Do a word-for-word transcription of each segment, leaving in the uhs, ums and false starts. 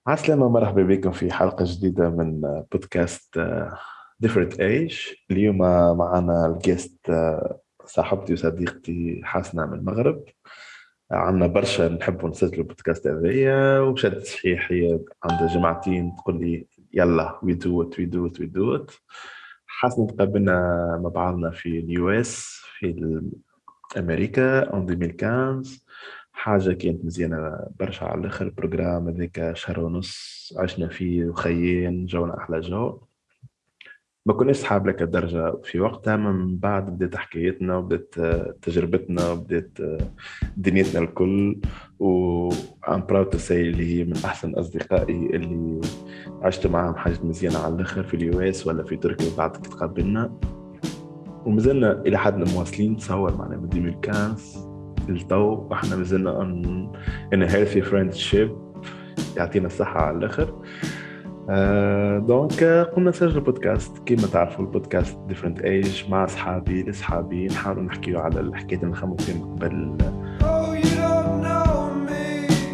عسلامة، مرحبا بكم في حلقة جديدة من بودكاست آه، Different Age. اليوم معنا الجيست، آه، صاحبتي وصديقتي حسنة من المغرب. عندنا برشا نحب نسجل البودكاست هذايا، وشدت صحيح هي عندها جماعتين تقول لي يلا we do it we do it we do it. حسنة تقابلنا مع بعضنا في اليو اس في امريكا اون ألفين وخمسة. حاجه كانت مزيانه برشا على الاخر. البروجرام هذاك شهر ونص عشنا فيه وخيين جونا احلى جو. ما كناش صحاب لك الدرجة في وقتها، من بعد بدات حكايتنا وبدات آه، تجربتنا وبدات آه، دنيتنا الكل. و I'm proud to say اللي هي من أحسن أصدقائي اللي عشت معاهم حاجة مزيانة على الآخر في اليو اس ولا في تركيا بعد كي تقابلنا. ومازلنا الى حد مواصلين، تصور معنا من ألفين وخمسة للتو واحنا مازلنا ان ان هيلثي فريندشيب. يعطينا الصحه على الاخر. آه دونك آه، قمنا نسجل بودكاست كيما تعرفوا، البودكاست ديفرنت ايج مع اصحابي لاصحابي نحاولوا نحكيو على الحكايات اللي نخمو فيهم قبل. Oh, you don't know me,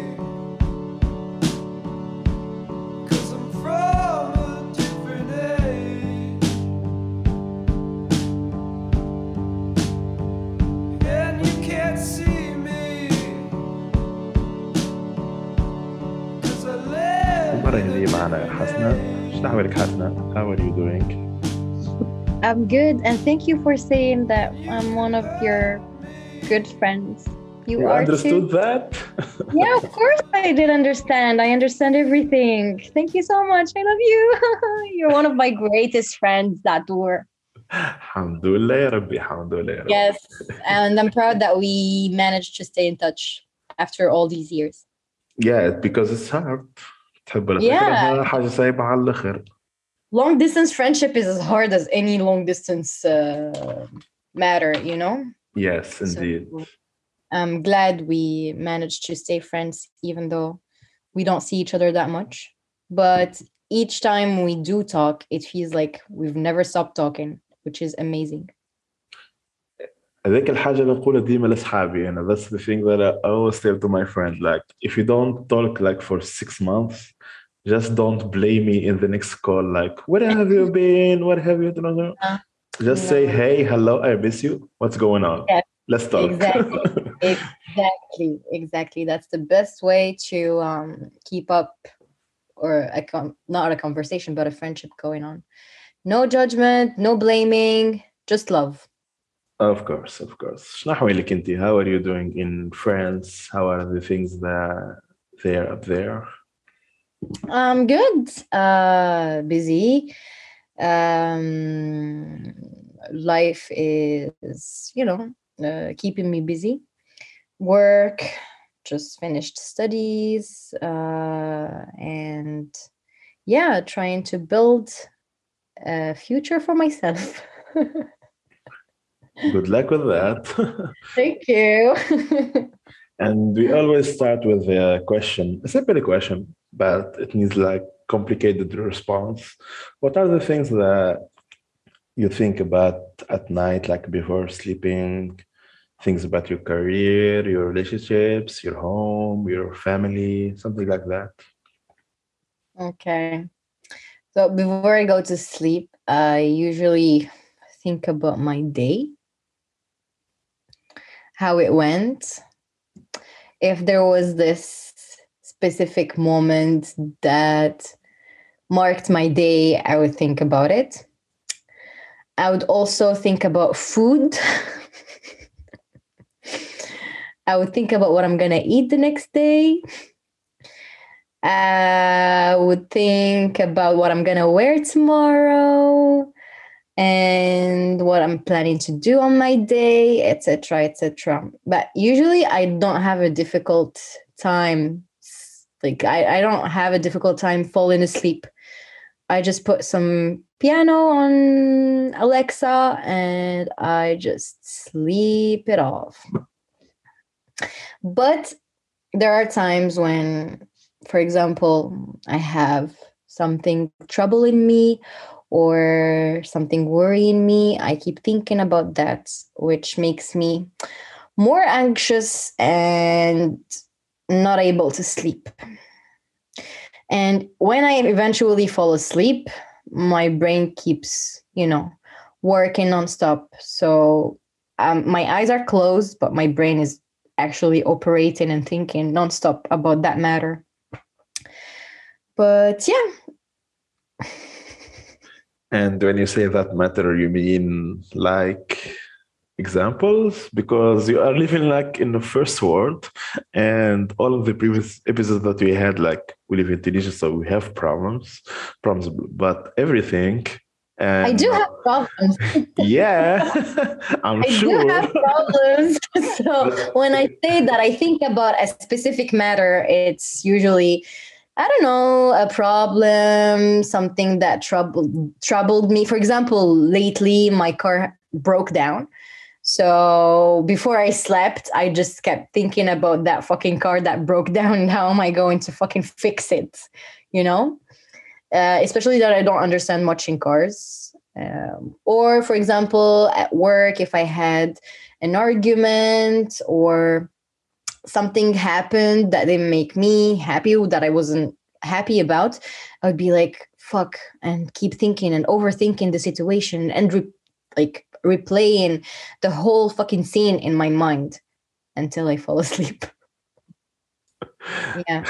'cause I'm from a different age. And you can't see me, 'cause I live المره in a هذه معنا different حسنه. شنو age. احوالك حسنه؟ How are you doing? I'm good, and thank you for saying that You I'm can one of your hurt me, good friends. You You are too? understood that? Yeah, of course I did understand. I understand everything. Thank you so much. I love you. You're one of my greatest friends that were. الحمد لله يا ربي، الحمد لله يا ربي. Yes, and I'm proud that we managed to stay in touch after all these years. Yeah, because it's hard. تحب ولا Yeah, تكره حاجه صعيبه على الاخر. long distance friendship is as hard as any long distance uh, matter, you know? Yes, So indeed. I'm glad we managed to stay friends, even though we don't see each other that much. But each time we do talk, it feels like we've never stopped talking, which is amazing. هذيك الحاجة اللي نقولها ديما لأصحابي أنا. That's the thing that I always tell to my friend, like if you don't talk like for six months, just don't blame me in the next call like where have you been, what have you done. Uh, Just say no, hey, hello, I miss you, what's going on, yeah, let's talk. exactly, exactly, exactly. That's the best way to um, keep up, or a com- not a conversation, but a friendship going on. No judgment, no blaming, just love. Of course, of course. شنو أحوالك أنت? How are you doing in France? How are the things that there up there? I'm good. Uh, busy. Um, life is, you know, uh, keeping me busy. Work, just finished studies, uh, and yeah, trying to build a future for myself. Good luck with that. Thank you. And we always start with a question, a simple question, but it needs like complicated response. What are the things that you think about at night, like before sleeping? Things about your career, your relationships, your home, your family, something like that. Okay. So before I go to sleep, I usually think about my day, how it went. If there was this specific moment that marked my day, I would think about it. I would also think about food. I would think about what I'm going to eat the next day. I would think about what I'm going to wear tomorrow and what I'm planning to do on my day, et cetera, et cetera. But usually I don't have a difficult time. Like I, I don't have a difficult time falling asleep. I just put some piano on Alexa and I just sleep it off. But there are times when, for example, I have something troubling me or something worrying me. I keep thinking about that, which makes me more anxious and not able to sleep. And when I eventually fall asleep, my brain keeps, you know, working nonstop. So um, my eyes are closed, but my brain is actually operating and thinking nonstop about that matter. But yeah. And when you say that matter, you mean like examples? Because you are living like in the first world, and all of the previous episodes that we had, like we live in Tunisia, so we have problems, problems, but everything. And I do have problems. yeah, I'm I sure. do have problems. So when I say that I think about a specific matter, it's usually, I don't know, a problem, something that troubled troubled me. For example, lately my car broke down. So before I slept, I just kept thinking about that fucking car that broke down and how am I going to fucking fix it, you know? Uh, especially that I don't understand much in cars. Um, or, for example, at work, if I had an argument or something happened that didn't make me happy, that I wasn't happy about, I would be like, fuck, and keep thinking and overthinking the situation and re- like replaying the whole fucking scene in my mind until I fall asleep. Yeah.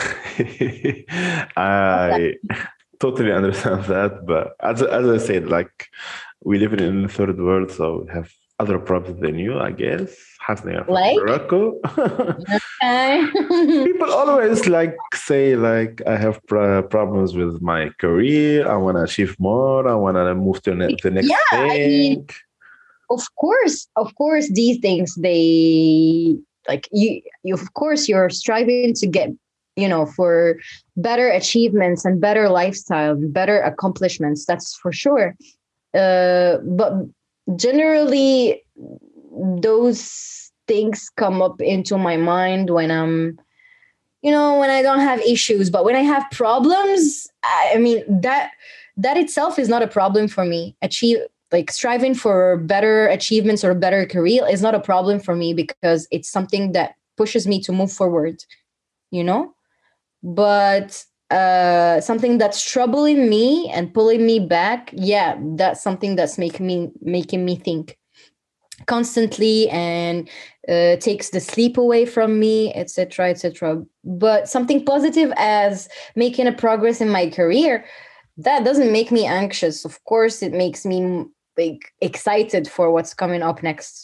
I totally understand that, but as as I said, like we live in the third world, so we have other problems than you, I guess. Hasna, you're from Like? Morocco. Okay. People always like say like I have pro- problems with my career. I want to achieve more. I want to move to ne- the next Yeah, I thing. mean, of course, of course, these things, they like you, you, of course, you're striving to get, you know, for better achievements and better lifestyle, better accomplishments. That's for sure. Uh, but generally, those things come up into my mind when I'm, you know, when I don't have issues. But when I have problems, I I mean that that itself is not a problem for me. Achieve like striving for better achievements or a better career is not a problem for me because it's something that pushes me to move forward, you know? But uh something that's troubling me and pulling me back, yeah, that's something that's making me making me think constantly and uh, takes the sleep away from me, etc, etc. But something positive as making a progress in my career, that doesn't make me anxious. Of course it makes me like excited for what's coming up next.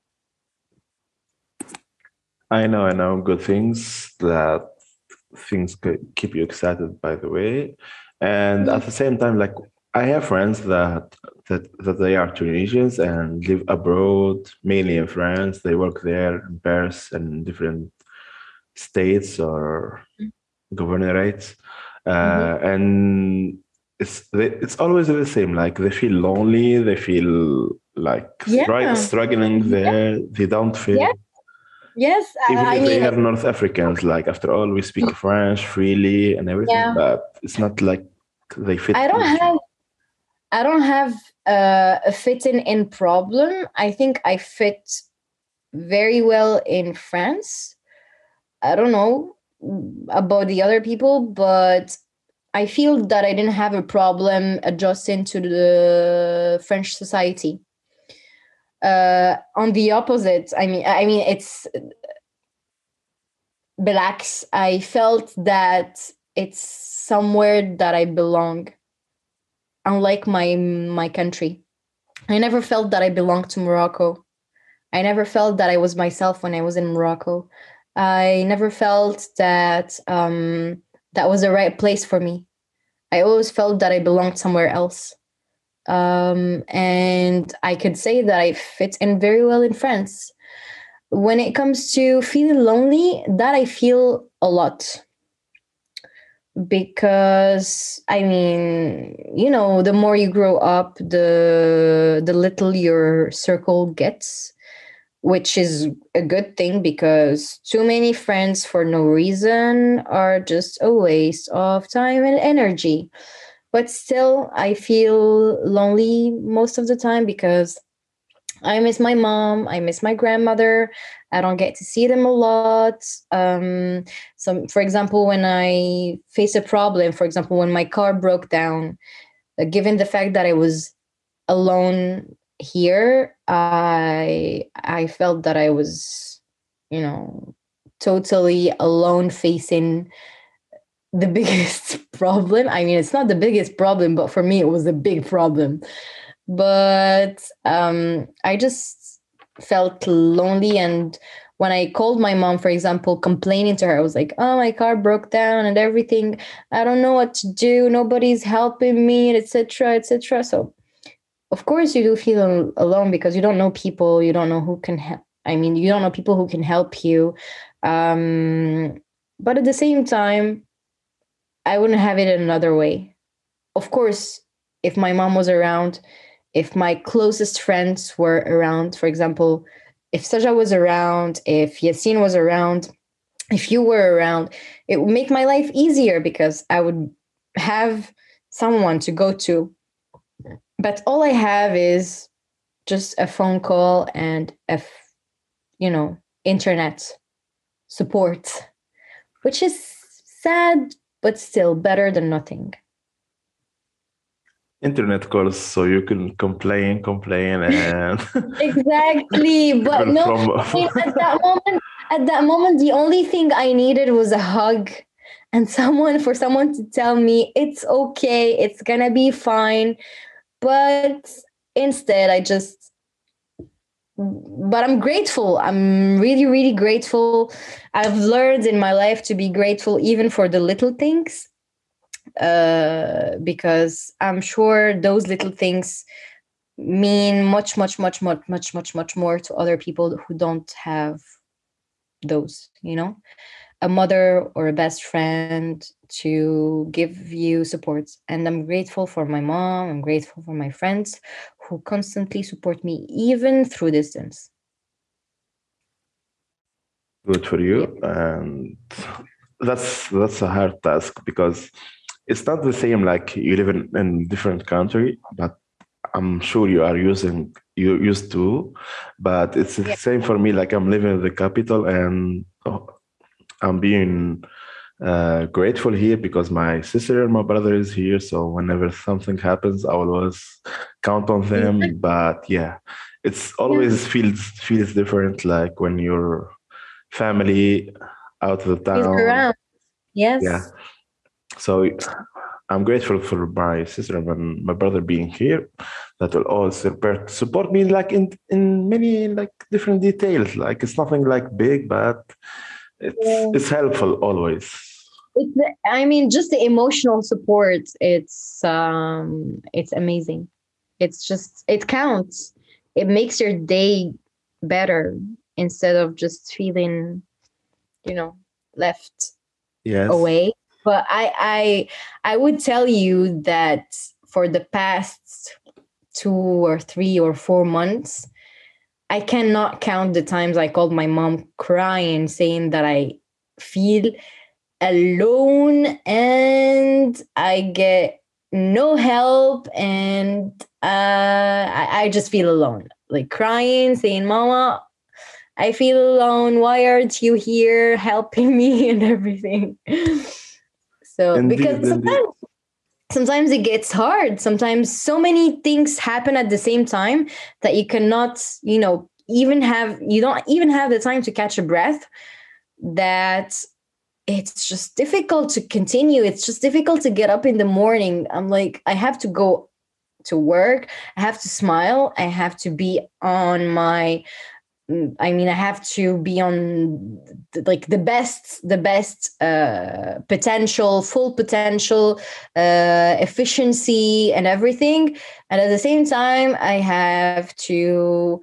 I know, I know, good things that things could keep you excited. By the way, and at the same time, like I have friends that that that they are Tunisians and live abroad, mainly in France. They work there in Paris and different states or governorates, Mhm. uh, and it's they, it's always the same. Like they feel lonely, they feel like stri- Yeah. struggling there. They don't fit. Yeah. Yes. Even I, I if they mean, are North Africans, like after all, we speak French freely and everything, yeah. but it's not like they fit I don't easily. have I don't have uh, a fitting in problem. I think I fit very well in France. I don't know about the other people, but I feel that I didn't have a problem adjusting to the French society. Uh, on the opposite, I mean, I mean, it's relax. I felt that it's somewhere that I belong, unlike my my country. I never felt that I belonged to Morocco. I never felt that I was myself when I was in Morocco. I never felt that um, that was the right place for me. I always felt that I belonged somewhere else. Um, and I could say that I fit in very well in France. When it comes to feeling lonely, that I feel a lot because I mean, you know, the more you grow up, the the little your circle gets, which is a good thing because too many friends for no reason are just a waste of time and energy. But still, I feel lonely most of the time because I miss my mom. I miss my grandmother. I don't get to see them a lot. Um, so, for example, when I face a problem, for example, when my car broke down, uh, given the fact that I was alone here, I I felt that I was, you know, totally alone facing the biggest problem. I mean, it's not the biggest problem, but for me, it was a big problem. But um, I just felt lonely. And when I called my mom, for example, complaining to her, I was like, oh, my car broke down and everything. I don't know what to do. Nobody's helping me, et cetera, et cetera. So, of course, you do feel al- alone because you don't know people. You don't know who can help. I mean, you don't know people who can help you. Um, but at the same time, I wouldn't have it another way. Of course, if my mom was around, if my closest friends were around, for example, if Saja was around, if Yassine was around, if you were around, it would make my life easier because I would have someone to go to. But all I have is just a phone call and a, f- you know, internet support, which is sad, but still better than nothing. Internet calls, so you can complain, complain, and Exactly. But people no, from I mean, at that moment, at that moment, the only thing I needed was a hug and someone for someone to tell me it's okay, it's gonna be fine. But instead, I just, but I'm grateful. I'm really, really grateful. I've learned in my life to be grateful even for the little things, uh, because I'm sure those little things mean much, much, much, much, much, much, much more to other people who don't have those, you know, a mother or a best friend to give you support. And I'm grateful for my mom. I'm grateful for my friends who constantly support me, even through distance. good for Yep. you. And that's that's a hard task because it's not the same like you live in, in different country, but I'm sure you are using you used to, but it's the Yeah. same for me. Like I'm living in the capital and oh, I'm being uh, grateful here because my sister and my brother is here. So whenever something happens, I will always count on them. Exactly. But yeah, it's Yeah. always feels feels different. Like when your family out of the He's town. around. Yeah. Yes. So I'm grateful for my sister and my brother being here. That will always support support me like in in many like different details. Like it's nothing like big, but it's Yeah. it's helpful always. It's the, I mean, just the emotional support. It's um, it's amazing. It's just it counts. It makes your day better instead of just feeling, you know, left Yes. away. But I I I would tell you that for the past two or three or four months, I cannot count the times I called my mom crying, saying that I feel alone and I get no help and uh, I, I just feel alone. Like crying, saying, Mama, I feel alone. Why aren't you here helping me and everything? So Indeed, because indeed. sometimes sometimes it gets hard. Sometimes so many things happen at the same time that you cannot, you know, even have you don't even have the time to catch a breath. That it's just difficult to continue. It's just difficult to get up in the morning. I'm like, I have to go to work. I have to smile. I have to be on my mm, I mean, I have to be on th- like the best, the best uh, potential, full potential, uh, efficiency, and everything. And at the same time, I have to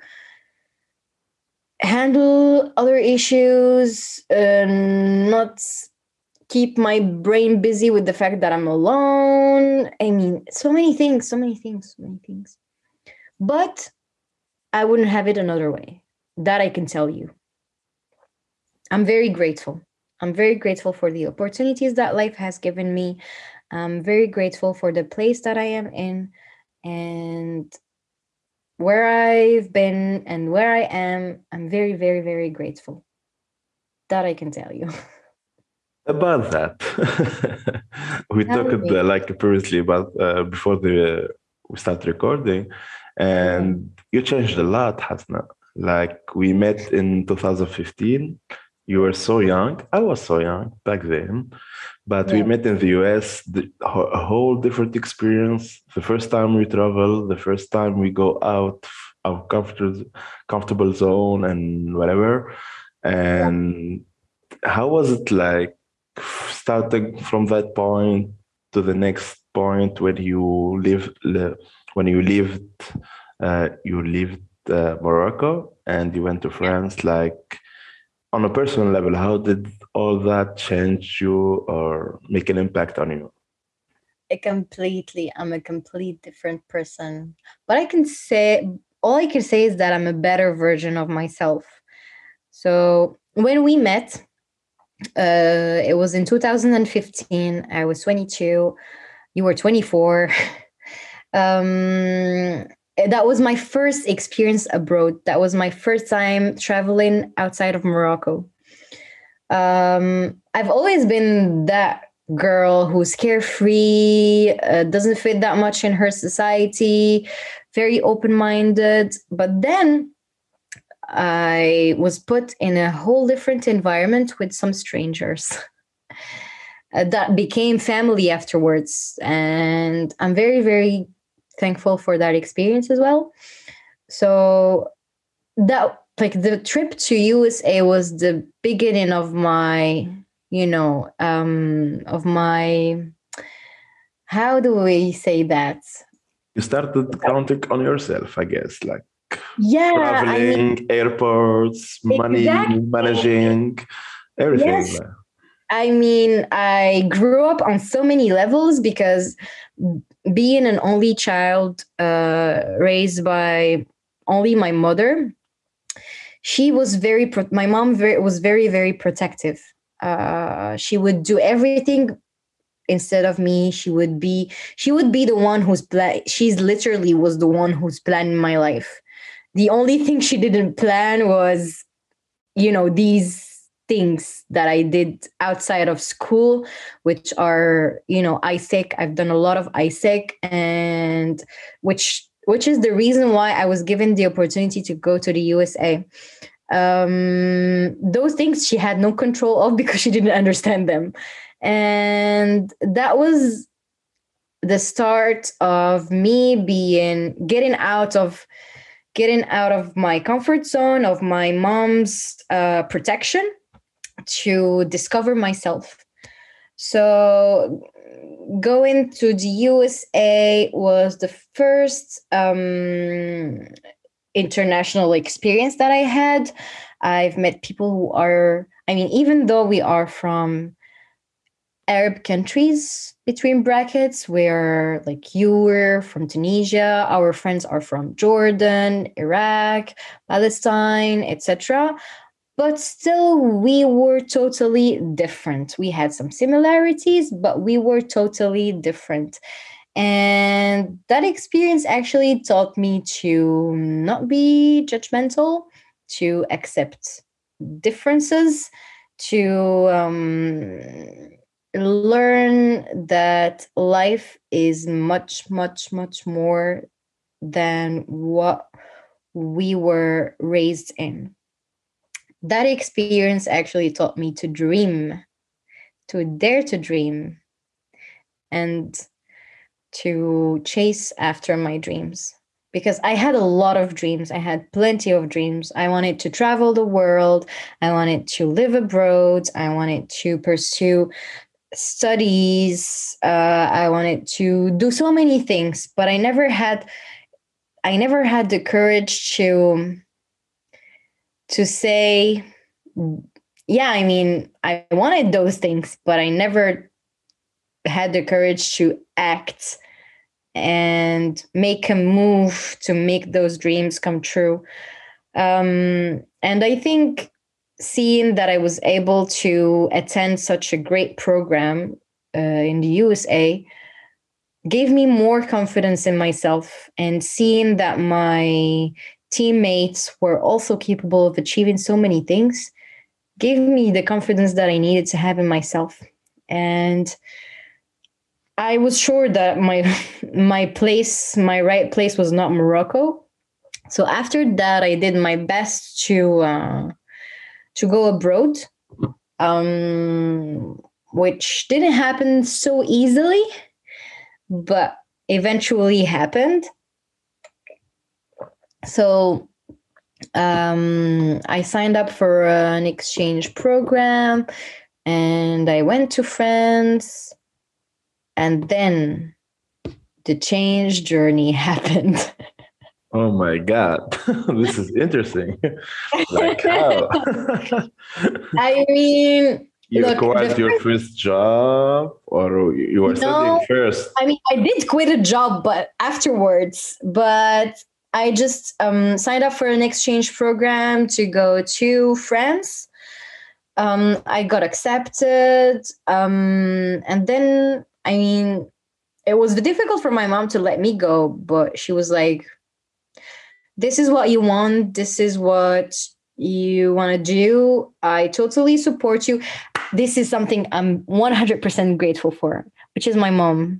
handle other issues, uh, not keep my brain busy with the fact that I'm alone. I mean, so many things, so many things, so many things. But I wouldn't have it another way. That I can tell you. I'm very grateful. I'm very grateful for the opportunities that life has given me. I'm very grateful for the place that I am in. And where I've been and where I am, I'm very, very, very grateful. That I can tell you. About that, we Tell talked me. uh, like previously about uh, before the we start recording, and you changed a lot, Hasna. Like we met in two thousand fifteen. You were so young. I was so young back then, but we Yeah. met in the U S. The, ho- a whole different experience. The first time we travel, the first time we go out our comfortable comfortable zone and whatever. And how was it like starting from that point to the next point when you live li- when you lived uh, you lived uh, Morocco and you went to France, like on a personal level, how did all that change you or make an impact on you? A completely, I'm a complete different person. But I can say, all I can say is that I'm a better version of myself. So when we met, uh, it was in two thousand fifteen. I was twenty-two. You were twenty-four. um, that was my first experience abroad. That was my first time traveling outside of Morocco. Um, I've always been that girl who's carefree, uh, doesn't fit that much in her society, very open minded. But then I was put in a whole different environment with some strangers uh, that became family afterwards. And I'm very, very thankful for that experience as well. So that like the trip to U S A was the beginning of my, you know, um of my, how do we say that? You started counting on yourself, I guess, like Yeah, I mean, traveling, airports, money, exactly. managing, everything. Yes. I mean, I grew up on so many levels because being an only child uh, raised by only my mother, she was very, pro- my mom very, was very, very protective. Uh, she would do everything instead of me. She would be, she would be the one who's, pla- she's literally was the one who's planning my life. The only thing she didn't plan was, you know, these things that I did outside of school, which are, you know, I S E C. I've done a lot of I S E C, and which which is the reason why I was given the opportunity to go to the U S A. Um, those things she had no control of because she didn't understand them. And that was the start of me being getting out of getting out of my comfort zone of my mom's uh, protection to discover myself. So going to the U S A was the first um, international experience that I had. I've met people who are, I mean, even though we are from Arab countries, between brackets, where like you were from Tunisia, our friends are from Jordan, Iraq, Palestine, et cetera. But still, we were totally different. We had some similarities, but we were totally different. And that experience actually taught me to not be judgmental, to accept differences, to um, learn that life is much, much, much more than what we were raised in. That experience actually taught me to dream, to dare to dream, and to chase after my dreams. Because I had a lot of dreams. I had plenty of dreams. I wanted to travel the world. I wanted to live abroad. I wanted to pursue studies. Uh, I wanted to do so many things, but I never had. I never had the courage to to say, yeah. I mean, I wanted those things, but I never had the courage to act and make a move to make those dreams come true. Um, and I think seeing that I was able to attend such a great program uh, in the U S A gave me more confidence in myself, and seeing that my teammates were also capable of achieving so many things gave me the confidence that I needed to have in myself. And I was sure that my my place, my right place was not Morocco. So after that, I did my best to uh, to go abroad, um, which didn't happen so easily, but eventually happened. So um, I signed up for an exchange program, and I went to France, and then the change journey happened. Oh my God, this is interesting. Like how? I mean, You look, acquired the your first job, or you were studying No, first? I mean, I did quit a job, but afterwards, but I just um, signed up for an exchange program to go to France. Um, I got accepted. Um, and then, I mean, it was difficult for my mom to let me go, but she was like, this is what you want. This is what you want to do. I totally support you. This is something I'm one hundred percent grateful for, which is my mom.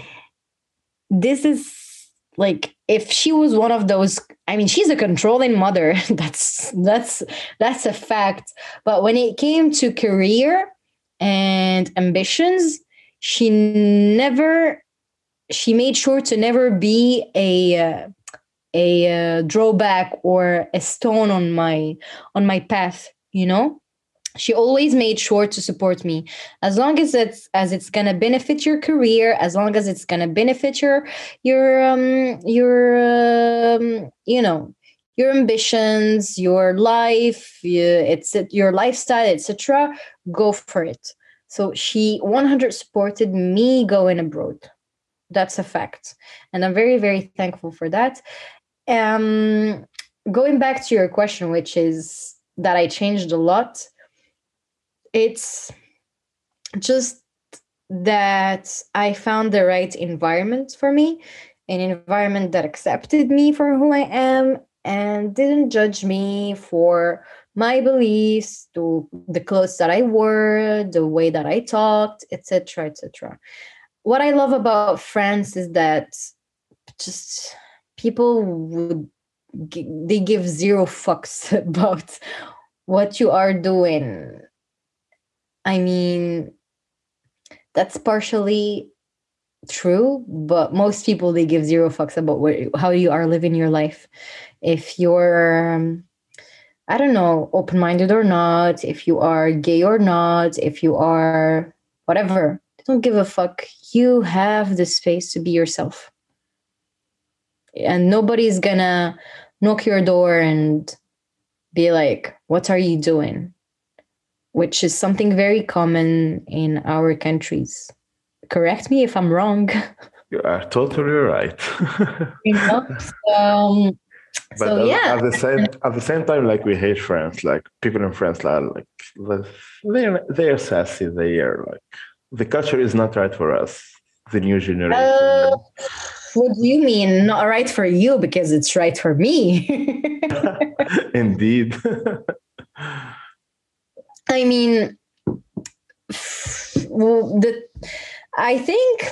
This is like, if she was one of those, I mean, she's a controlling mother. that's that's that's a fact. But when it came to career and ambitions, she never she made sure to never be a uh, a uh, drawback or a stone on my on my path, you know. She always made sure to support me, as long as it's as it's gonna benefit your career, as long as it's gonna benefit your your um your um, you know, your ambitions, your life, yeah, it's your lifestyle, et cetera. Go for it. So she one hundred supported me going abroad. That's a fact, and I'm very very thankful for that. Um, Going back to your question, which is that I changed a lot. It's just that I found the right environment for me, an environment that accepted me for who I am and didn't judge me for my beliefs, to the clothes that I wore, the way that I talked, et cetera, et cetera. What I love about France is that just people would gi- they give zero fucks about what you are doing. I mean, that's partially true, but most people, they give zero fucks about what, how you are living your life. If you're, um, I don't know, open minded or not, if you are gay or not, if you are whatever, they don't give a fuck. You have the space to be yourself, and nobody's gonna knock your door and be like, what are you doing? Which is something very common in our countries. Correct me if I'm wrong. You are totally right. You know? Um, But so at, yeah, at the same at the same time, like we hate France. Like people in France are like they're they're sassy. They are like the culture is not right for us. The new generation. uh, what do you mean not right for you? Because it's right for me. Indeed. I mean, well, the I think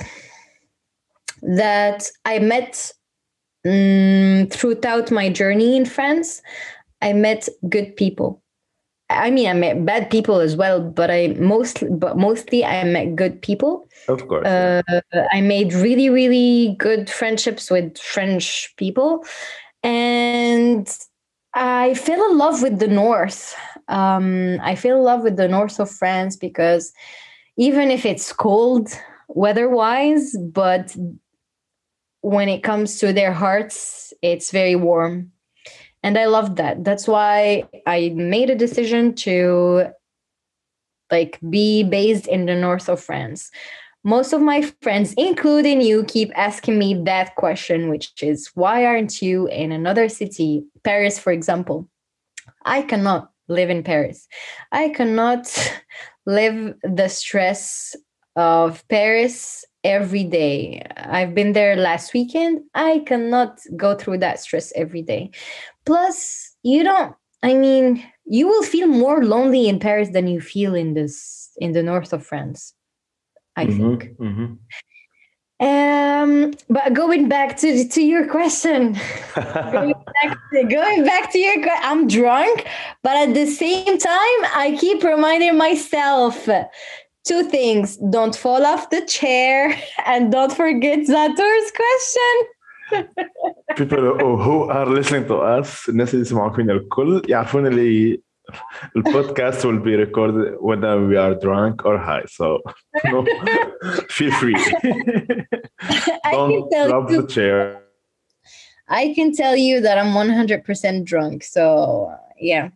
that I met mm, throughout my journey in France, I met good people. I mean, I met bad people as well, but I mostly, but mostly, I met good people. Of course. Yeah. Uh, I made really, really good friendships with French people, and I fell in love with the north. Um, I fell in love with the north of France because even if it's cold weather-wise, but when it comes to their hearts, it's very warm. And I loved that. That's why I made a decision to like be based in the north of France. Most of my friends, including you, keep asking me that question, which is why aren't you in another city, Paris, for example? I cannot live in Paris. I cannot live the stress of Paris every day. I've been there last weekend. I cannot go through that stress every day. Plus, you don't, I mean, you will feel more lonely in Paris than you feel in this in the north of France, I think. Mhm, mhm. Um, but going back to to your question, going back to, going back to your que- I'm drunk, but at the same time, I keep reminding myself two things: don't fall off the chair, and don't forget Zator's question. People who who are listening to us, الناس اللي يسمعوا فينا الكل يعرفون اللي البودكاست will be recorded whether we are drunk or high. So no, feel free. I can Don't tell drop you, the chair. I can tell you that I'm one hundred percent drunk. So yeah.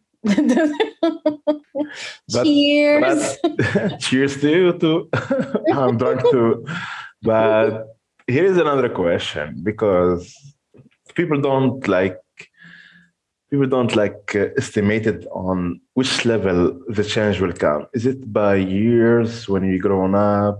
But, Cheers. but cheers to you too. I'm drunk too. But here is another question, because people don't like people don't like uh, estimate it on which level the change will come. Is it by years when you grown up?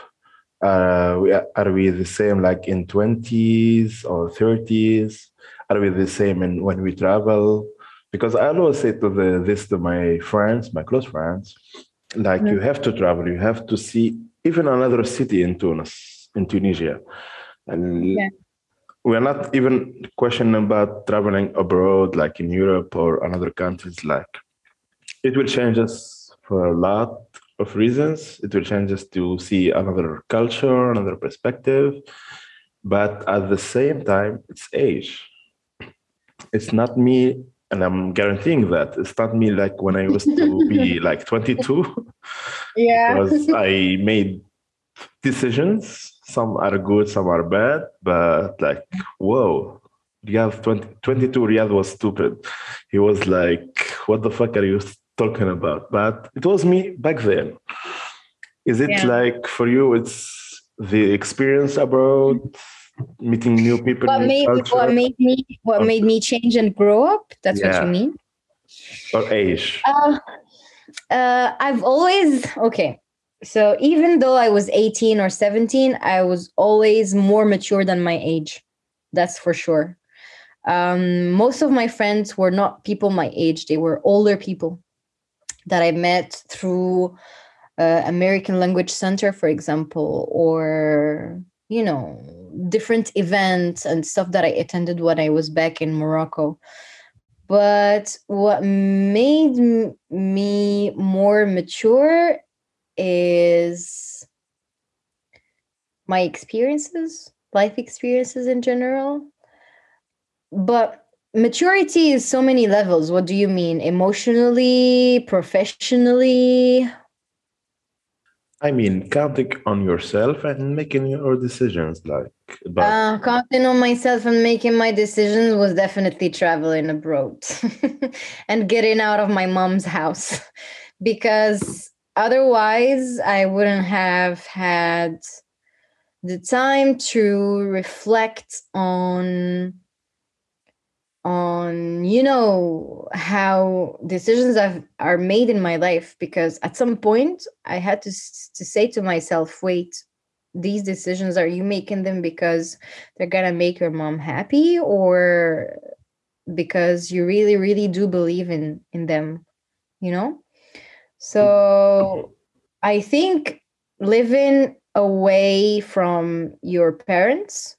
Uh, we, are we the same like in twenties or thirties? Are we the same in when we travel? Because I always say to the, this to my friends, my close friends, like you have to travel, you have to see even another city in Tunis, in Tunisia. And Yeah. we're not even questioning about traveling abroad, like in Europe or another countries. Like it will change us for a lot of reasons. It will change us to see another culture, another perspective. But at the same time, it's age. It's not me, and I'm guaranteeing that it's not me like when I used to be like twenty-two, Yeah. because I made decisions. Some are good, some are bad, but like, whoa, Riyadh twenty, twenty-two, Riyadh was stupid. He was like, what the fuck are you talking about? But it was me back then. Is it Yeah. like for you, it's the experience abroad, meeting new people, What new made culture, what made me what or, made me change and grow up? That's what you yeah, mean? or age? Uh, uh, I've always okay. So even though I was eighteen or seventeen, I was always more mature than my age. That's for sure. Um, most of my friends were not people my age. They were older people that I met through uh, American Language Center, for example, or you know, different events and stuff that I attended when I was back in Morocco. But what made m- me more mature is my experiences, life experiences in general. But maturity is so many levels. What do you mean? Emotionally, professionally? I mean, counting on yourself and making your decisions, like, but Uh, counting on myself and making my decisions was definitely traveling abroad and getting out of my mom's house because otherwise I wouldn't have had the time to reflect on on you know how decisions I've, are made in my life, because at some point I had to s- to say to myself, wait, these decisions, are you making them because they're gonna make your mom happy, or because you really really do believe in in them, you know? So I think living away from your parents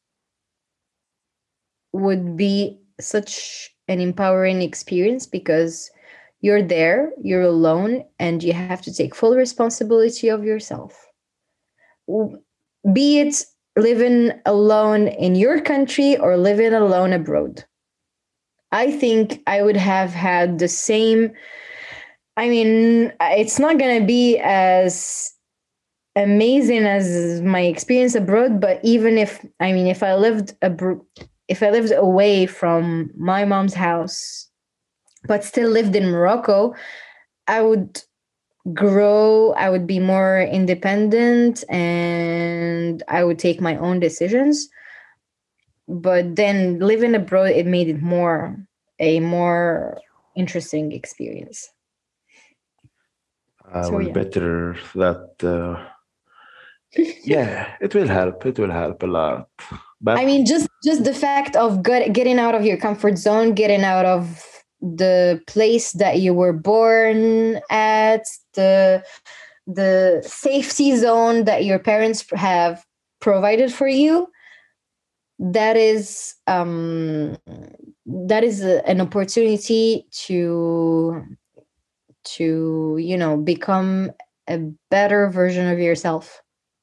would be such an empowering experience because you're there, you're alone, and you have to take full responsibility of yourself. W- Be it living alone in your country or living alone abroad. I think I would have had the same. I mean, it's not going to be as amazing as my experience abroad, but even if, I mean, if I lived abroad, if I lived away from my mom's house, but still lived in Morocco, I would grow, I would be more independent, and I would take my own decisions. But then living abroad, it made it more a more interesting experience. I So will yeah. better that uh, Yeah, it will help. It will help a lot. But I mean, just just the fact of get, getting out of your comfort zone, getting out of the place that you were born at, the the safety zone that your parents have provided for you, that is um that is a, an opportunity to to you know become a better version of yourself.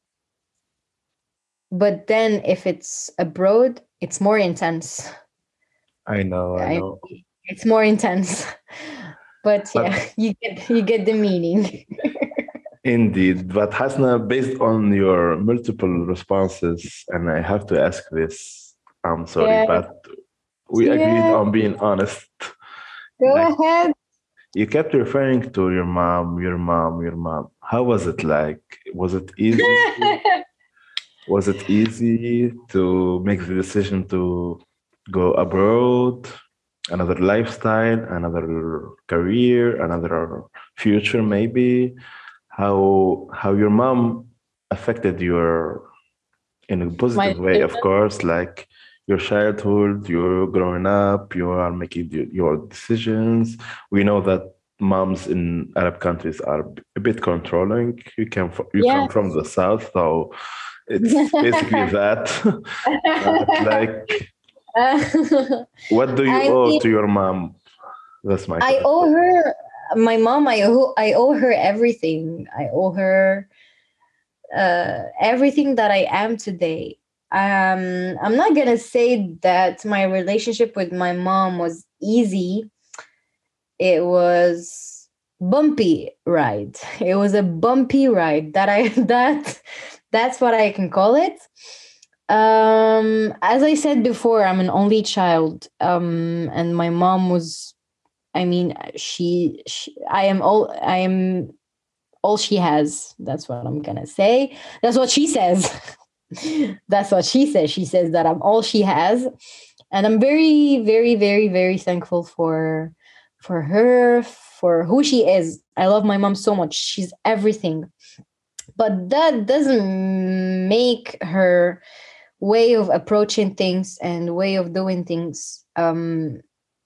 But then if it's abroad, it's more intense. I know, I I, know. it's more intense. But But yeah, you get you get the meaning. indeed, but Hasna, based on your multiple responses, and I have to ask this, I'm sorry, Yeah, but we agreed yeah. on being honest. Go Like ahead. you kept referring to your mom, your mom, your mom. How was it like? Was it easy? Was it easy to make the decision to go abroad, another lifestyle, another career, another future maybe? How how your mom affected your in a My positive way, of course, like your childhood, you're growing up, you are making your, your decisions. We know that moms in Arab countries are a bit controlling. You come from, you come yeah. from the south, so it's basically that. But like, what do you I owe mean, to your mom? That's my I owe question. her my mom. I owe I owe her everything. I owe her uh, everything that I am today. Um, I'm not gonna say that my relationship with my mom was easy. It was bumpy ride. It was a bumpy ride. That I that that's what I can call it. Um, as I said before, I'm an only child. Um, and my mom was. I mean, she, she. I am all. I am all she has. That's what I'm gonna say. That's what she says. That's what she says. She says that I'm all she has, and I'm very, very, very, very thankful for for her, for who she is. I love my mom so much. She's everything, but that doesn't make her way of approaching things and way of doing things um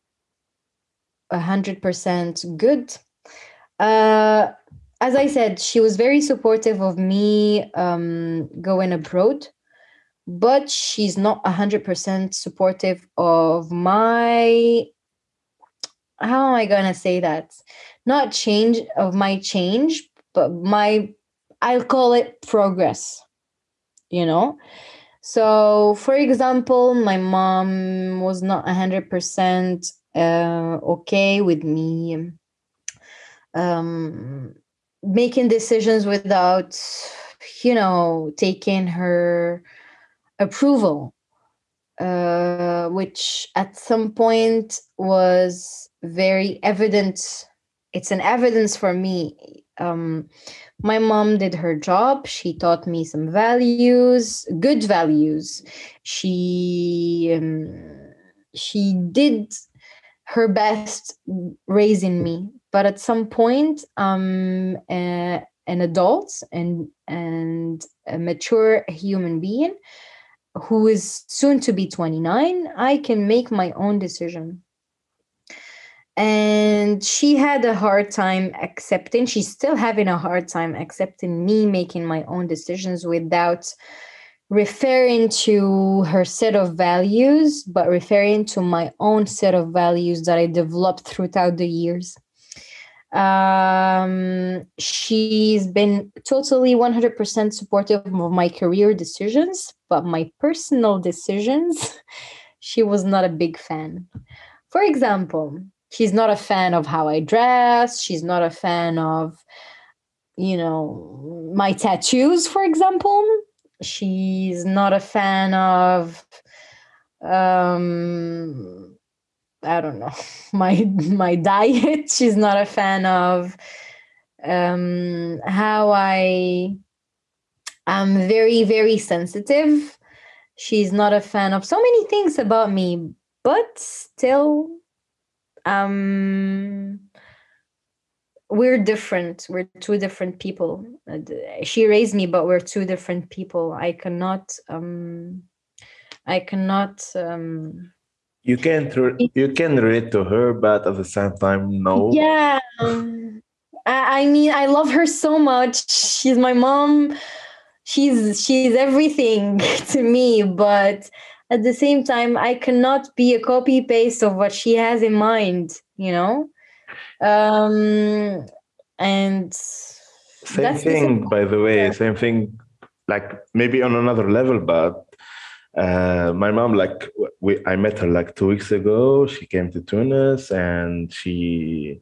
a hundred percent good. Uh, as I said, she was very supportive of me um, going abroad, but she's not a hundred percent supportive of my. How am I gonna say that? Not change of my change, but my. I'll call it progress. You know. So, for example, my mom was not a hundred percent uh, okay with me um, making decisions without, you know, taking her approval, uh, which at some point was very evident. It's an evidence for me. Um, my mom did her job. She taught me some values, good values. She um, she did her best raising me, but at some point I'm a, an adult and and a mature human being who is soon to be twenty-nine. I can make my own decision, and she had a hard time accepting, she's still having a hard time accepting me making my own decisions without referring to her set of values, but referring to my own set of values that I developed throughout the years. Um, she's been totally one hundred percent supportive of my career decisions, but my personal decisions, she was not a big fan. For example, she's not a fan of how I dress. She's not a fan of, you know, my tattoos, for example. She's not a fan of um I don't know, my my diet. She's not a fan of um how I am very, very sensitive. She's not a fan of so many things about me, but still um we're different. We're two different people. Uh, d- She raised me, but we're two different people. I cannot. Um, I cannot. Um, You can't re- you can relate to her, but at the same time, no. yeah. um, I, I mean, I love her so much. She's my mom. She's she's everything to me. But at the same time, I cannot be a copy paste of what she has in mind. You know. Um, and Same that's this. thing, by the way. Same thing, like maybe on another level, but uh, my mom, like w- we, I met her like two weeks ago. She came to Tunis, and she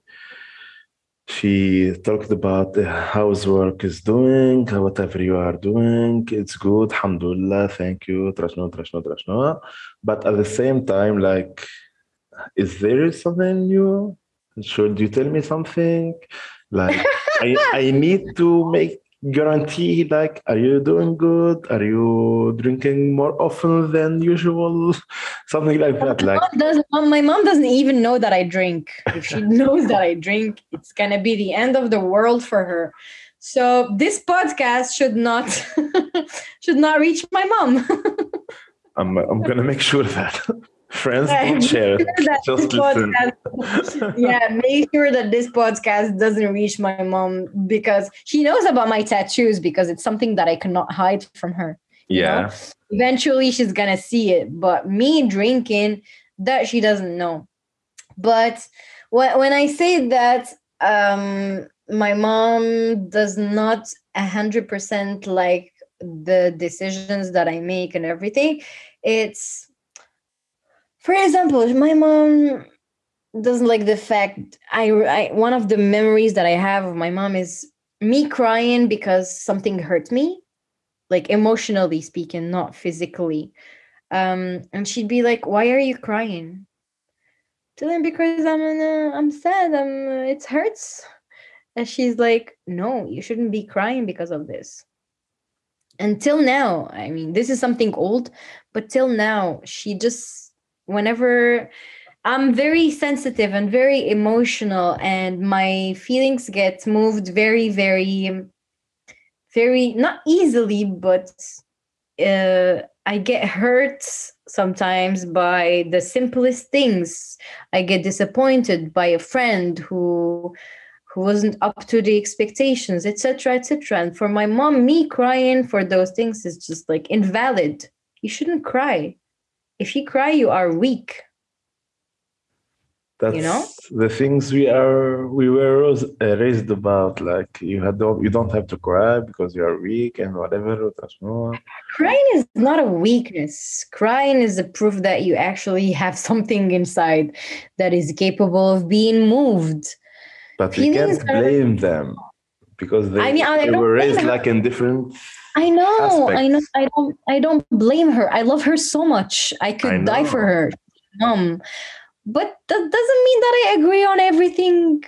she talked about uh, how's work is doing, whatever you are doing, it's good, alhamdulillah, thank you, trashno, trashno, trashno. But at the same time, like, is there something new? Should you tell me something? Like, I I need to make guarantee. Like, are you doing good? Are you drinking more often than usual? Something like that. Like, Mom doesn't, mom- my mom doesn't even know that I drink. If she knows that I drink, it's gonna be the end of the world for her. So this podcast should not should not reach my mom. I'm I'm gonna make sure that friends Make don't share it. sure that Just this listen. podcast- yeah, make sure that this podcast doesn't reach my mom because she knows about my tattoos because it's something that I cannot hide from her. You know, Yeah. eventually she's gonna see it, but me drinking, that she doesn't know. But when, when I say that, um my mom does not a hundred percent like the decisions that I make and everything. It's, for example, my mom doesn't like the fact I, I one of the memories that I have of my mom is me crying because something hurt me, like emotionally speaking, not physically. Um, and she'd be like, "Why are you crying?" To them, because I'm uh, I'm sad. I'm uh, it hurts. And she's like, "No, you shouldn't be crying because of this." Until now, I mean, this is something old, but till now, she just whenever I'm very sensitive and very emotional, and my feelings get moved very, very, um, very not easily, but uh, I get hurt sometimes by the simplest things. I get disappointed by a friend who who wasn't up to the expectations, et cetera, et cetera. And for my mom, me crying for those things is just like invalid. You shouldn't cry. If you cry, you are weak. That's You know? the things we are we were ros- uh, raised about. Like you had don't you don't have to cry because you are weak and whatever. That's no. Crying is not a weakness. Crying is a proof that you actually have something inside that is capable of being moved. But we Feelings can't are. blame them because they, I mean, I they don't were blame raised her. like in different I know, I know. aspects. I don't. I don't blame her. I love her so much. I I could die for know. her, mom. But that doesn't mean that I agree on everything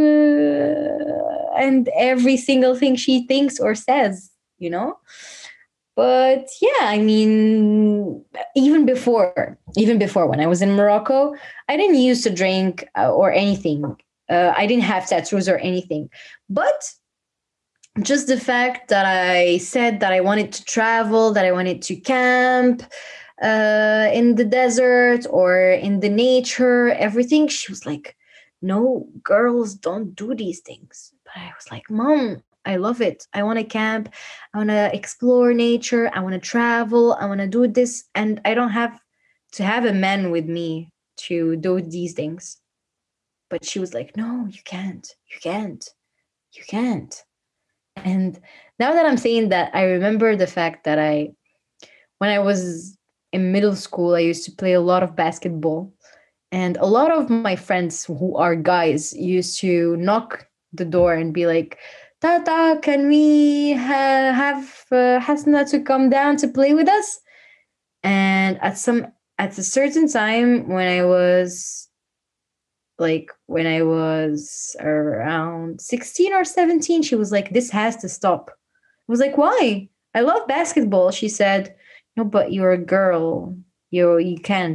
uh, and every single thing she thinks or says. You know. But yeah, I mean, even before, even before when I was in Morocco, I didn't used to drink uh, or anything. Uh, I didn't have tattoos or anything. But just the fact that I said that I wanted to travel, that I wanted to camp uh, in the desert or in the nature, everything, she was like, no, girls don't do these things. But I was like, Mom, I love it. I want to camp. I want to explore nature. I want to travel. I want to do this. And I don't have to have a man with me to do these things. But she was like, no, you can't. You can't. You can't. And now that I'm saying that, I remember the fact that I, when I was in middle school, I used to play a lot of basketball. And a lot of my friends who are guys used to knock the door and be like, Tata, can we ha- have uh, Hasna to come down to play with us? And at some at a certain time when I was like when I was around sixteen or seventeen, she was like, this has to stop. I was like, why? I love basketball. She said, no, but you're a girl. You you can't.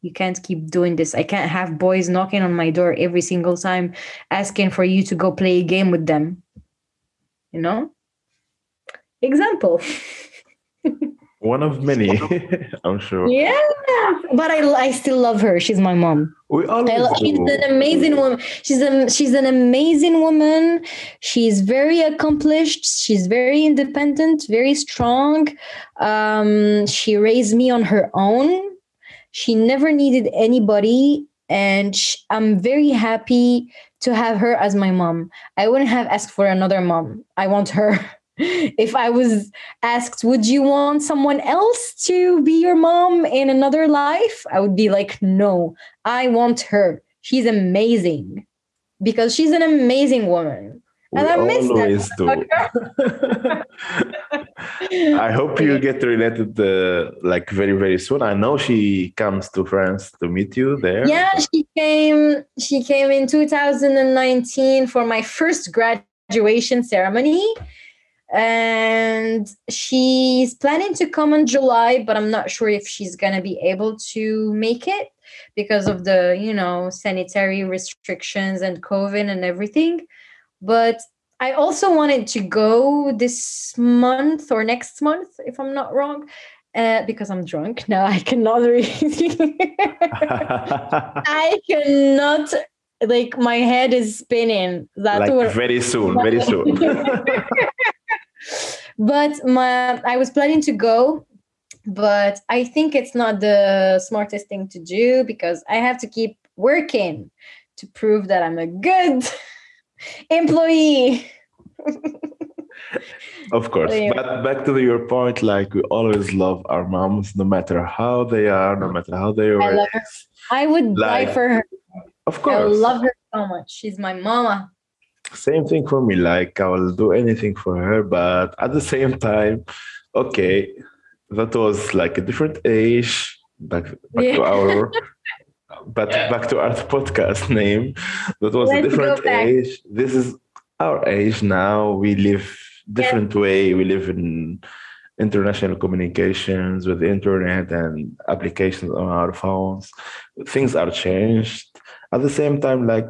you can't keep doing this. I can't have boys knocking on my door every single time asking for you to go play a game with them. You know? Example. One of many, I'm sure. Yeah. But I, I still love her. She's my mom. We I always lo- she's do. an amazing woman. She's a, she's an amazing woman. She's very accomplished. She's very independent, very strong. Um, she raised me on her own. She never needed anybody, and sh- I'm very happy to have her as my mom. I wouldn't have asked for another mom. I want her. If I was asked, would you want someone else to be your mom in another life? I would be like, no, I want her. She's amazing because she's an amazing woman. We And I miss always do. that. I hope you get related uh, like very, very soon. I know she comes to France to meet you there. Yeah, she came. She came in two thousand nineteen for my first graduation ceremony, and she's planning to come in July, but I'm not sure if she's gonna be able to make it because of the, you know, sanitary restrictions and COVID and everything. But I also wanted to go this month or next month, if I'm not wrong, uh, because I'm drunk. Now I cannot really. I cannot, like, my head is spinning. That's Like what. very soon, very soon. But my, I was planning to go, but I think it's not the smartest thing to do because I have to keep working to prove that I'm a good employee. Of course. Anyway. But back to your point, like we always love our moms, no matter how they are, no matter how they are. I love her. I would die Like, for her. Of I course. love her so much. She's my mama. Same thing for me. Like I will do anything for her, but at the same time, okay, that was like a different age. Back, back Yeah. to our but back to our podcast name. That was Let's a different go back. age. This is our age now. We live different way. We live in international communications with the internet and applications on our phones. Things are changed. At the same time, like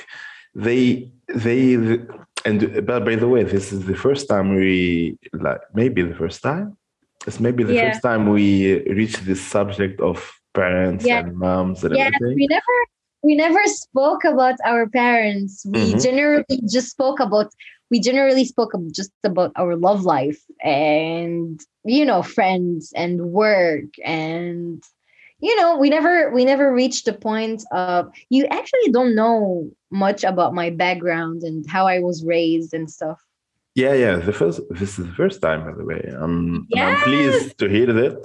they they and but by the way, this is the first time we like maybe the first time. It's maybe the Yeah. first time we reach this subject of parents Yeah. and moms and Yes, everything. we never we never spoke about our parents. We Mhm. generally just spoke about we generally spoke ab- just about our love life and, you know, friends and work, and, you know, we never we never reached the point of, you actually don't know much about my background and how I was raised and stuff. Yeah, yeah. The first this is the first time, by the way. Um, and I'm Yes. pleased to hear that.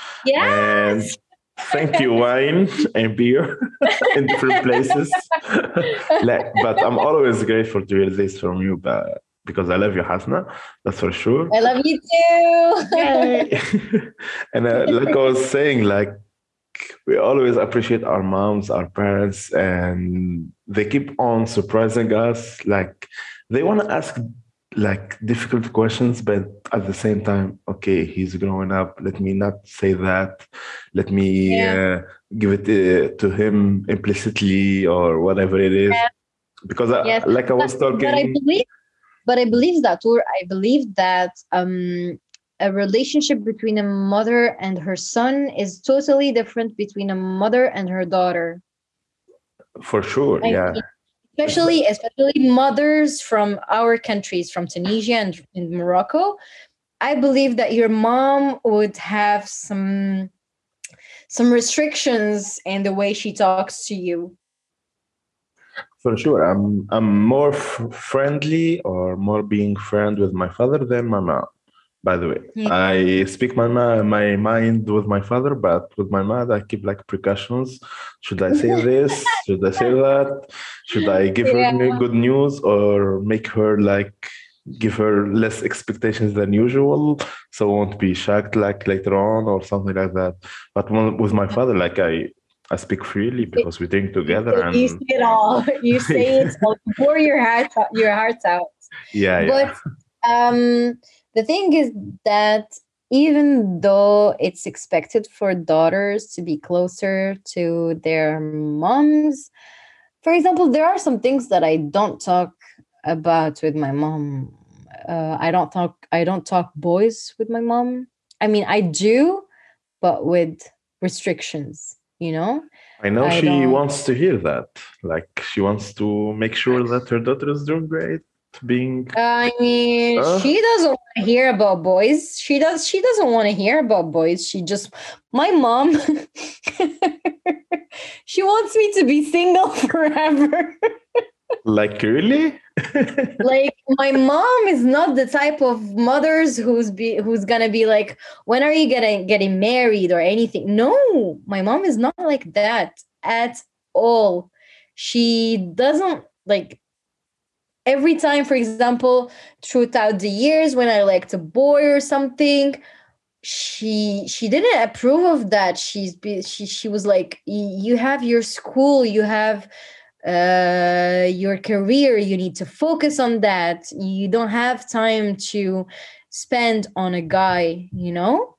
And Yes. thank you, wine and beer in different places. Like, but I'm always grateful to hear this from you, but because I love you, Hasna, that's for sure. I love you too. Yay. And uh, like I was saying, like we always appreciate our moms, our parents, and they keep on surprising us. Like they want to ask like difficult questions, but at the same time, okay, he's growing up. Let me not say that. Let me Yeah. uh, give it uh, to him implicitly or whatever it is. Yeah. Because I, Yes. like I was But, talking. but I believe, but I believe that, or I believe that um, a relationship between a mother and her son is totally different between a mother and her daughter. For sure, I yeah. mean, especially, especially mothers from our countries, from Tunisia and, and Morocco. I believe that your mom would have some some restrictions in the way she talks to you. For sure, I'm I'm more f- friendly or more being friend with my father than my mom. By the way, Yeah. I speak my ma- my mind with my father, but with my mom, I keep like precautions. Should I say this? Should I say that? Should I give her Yeah. new- good news or make her like give her less expectations than usual, so won't be shocked like later on or something like that. But when, with my father, like I I speak freely because we drink together You and say it all. You say it all. You pour your heart your hearts out. yeah, yeah. But um, the thing is that even though it's expected for daughters to be closer to their moms. For example, there are some things that I don't talk about with my mom. Uh, I don't talk. I don't talk boys with my mom. I mean, I do, but with restrictions. You know, I know I she don't. wants to hear that. Like she wants to make sure that her daughter is doing great, being I mean, uh, she doesn't want to hear about boys. She does. She doesn't want to hear about boys. She just. My mom. She wants me to be single forever. like really. Like my mom is not the type of mothers who's be who's gonna be like, when are you gonna getting married or anything? No, my mom is not like that at all. She doesn't like every time, for example, throughout the years when I liked a boy or something, she she didn't approve of that. She's be, she she was like, you have your school, you have uh your career, you need to focus on that, you don't have time to spend on a guy, you know.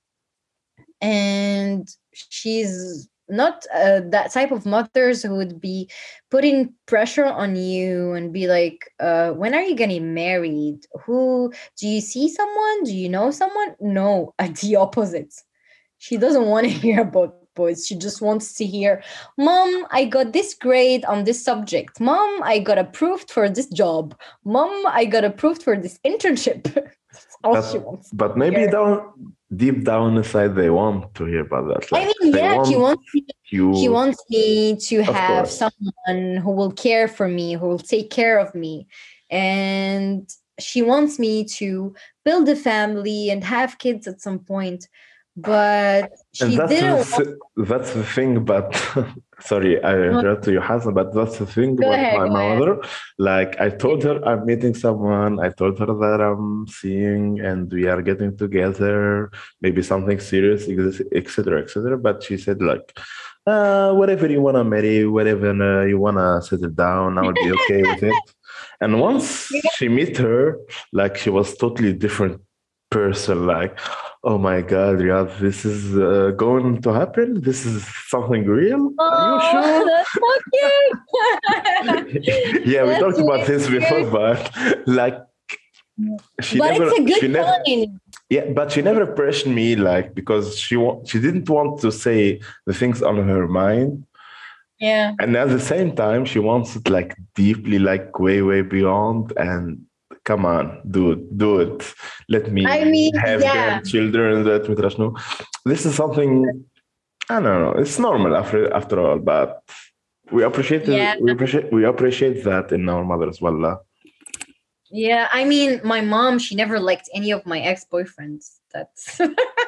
And she's not uh, that type of mothers who would be putting pressure on you and be like, uh when are you getting married, who do you see someone, do you know someone? No, at the opposite. She doesn't want to hear about boys. She just wants to hear, Mom, I got this grade on this subject. Mom, I got approved for this job. Mom, I got approved for this internship. That's all she But, wants. but maybe hear. down deep down inside they want to hear about that. I Like mean, they yeah, she want wants me, she you, wants me to of have course. someone who will care for me, who will take care of me. And she wants me to build a family and have kids at some point. But And she that's didn't want. the, that's the thing. But sorry, I interrupt you, Hassan. But that's the thing Go about ahead, my go ahead. mother. Like I told her I'm meeting someone. I told her that I'm seeing and we are getting together. Maybe something serious, et cetera, et cetera. But she said like, uh, whatever you wanna marry, whatever uh, you wanna settle down, I will be okay with it. And once she met her, like she was totally different person. Like, oh my God, Riyadh, this is uh, going to happen. This is something real. Are you sure? Oh, that's so cute. Yeah, we That's talked about really this before, cute. but like she But never, it's a she good never, sign. yeah, but she never pressured me, like because she wa- she didn't want to say the things on her mind. Yeah. And at the same time, she wants it like deeply, like way, way beyond. And come on, do it, do it. Let me I mean, have yeah. grandchildren. That مدري This is something I don't know. It's normal after after all, but we appreciate Yeah. it, we appreciate we appreciate that in our mothers. Wallah. Yeah. I mean, my mom, she never liked any of my ex-boyfriends. That's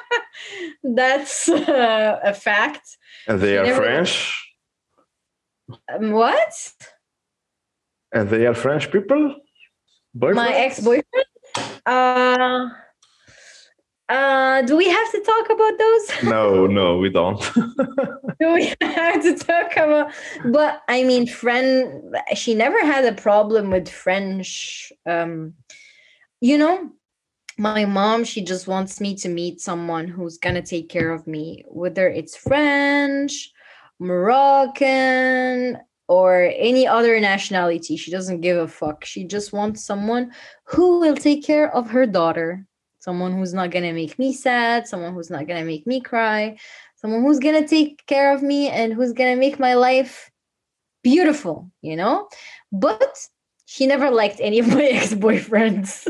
that's uh, a fact. And they She are never- French. Um, what? And they are French people. My Boyfriends? ex-boyfriend? Uh uh do we have to talk about those? No, no, we don't. Do we have to talk about? But I mean, friend, she never had a problem with French. Um, you know, my mom, she just wants me to meet someone who's gonna take care of me, whether it's French, Moroccan, or any other nationality. She doesn't give a fuck. She just wants someone who will take care of her daughter. Someone who's not gonna make me sad, someone who's not gonna make me cry, someone who's gonna take care of me and who's gonna make my life beautiful, you know? But she never liked any of my ex-boyfriends.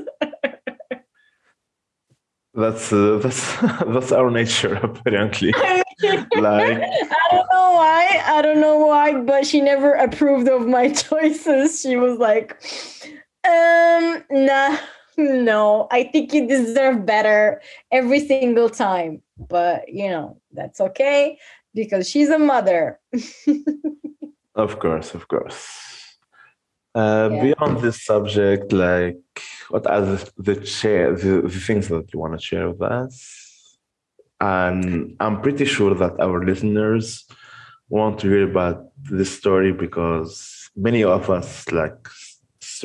That's uh, that's that's our nature apparently. Like I don't know why. I don't know why, but she never approved of my choices. She was like, um, nah, no, I think you deserve better every single time. But, you know, that's okay because she's a mother. of course, of course. Uh, Yeah. Beyond this subject, like what are the the, share, the, the things that you want to share with us? And I'm pretty sure that our listeners want to hear about this story because many of us like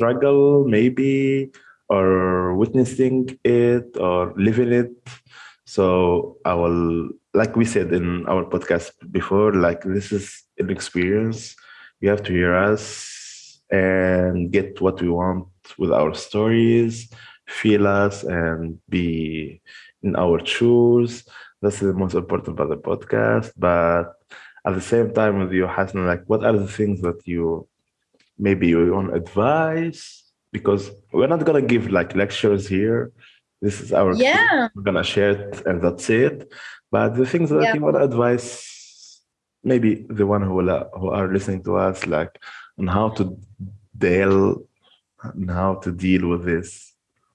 struggle maybe or witnessing it or living it. So I will, like we said in our podcast before, like this is an experience. You have to hear us and get what we want with our stories, feel us, and be in our shoes. That's the most important about the podcast. But at the same time, with you, Hassan, like what are the things that you maybe you want advice? Because we're not gonna give like lectures here. This is our experience. Yeah. We're gonna share it, and that's it. But the things that Yeah. you want to advise, maybe the one who will, who are listening to us, like on how to deal and how to deal with this.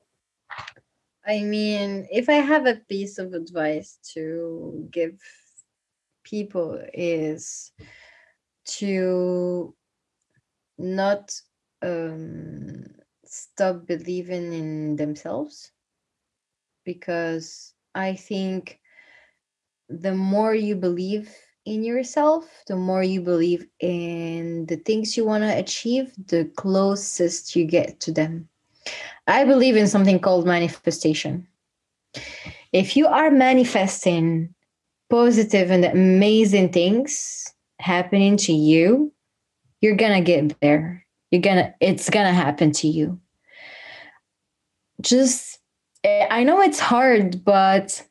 I mean, if I have a piece of advice to give people is to not um, stop believing in themselves, because I think the more you believe in yourself, the more you believe in the things you want to achieve, the closest you get to them. I believe in something called manifestation. If you are manifesting positive and amazing things happening to you, you're gonna get there. You're gonna, it's gonna happen to you. Just, eh, I know it's hard, but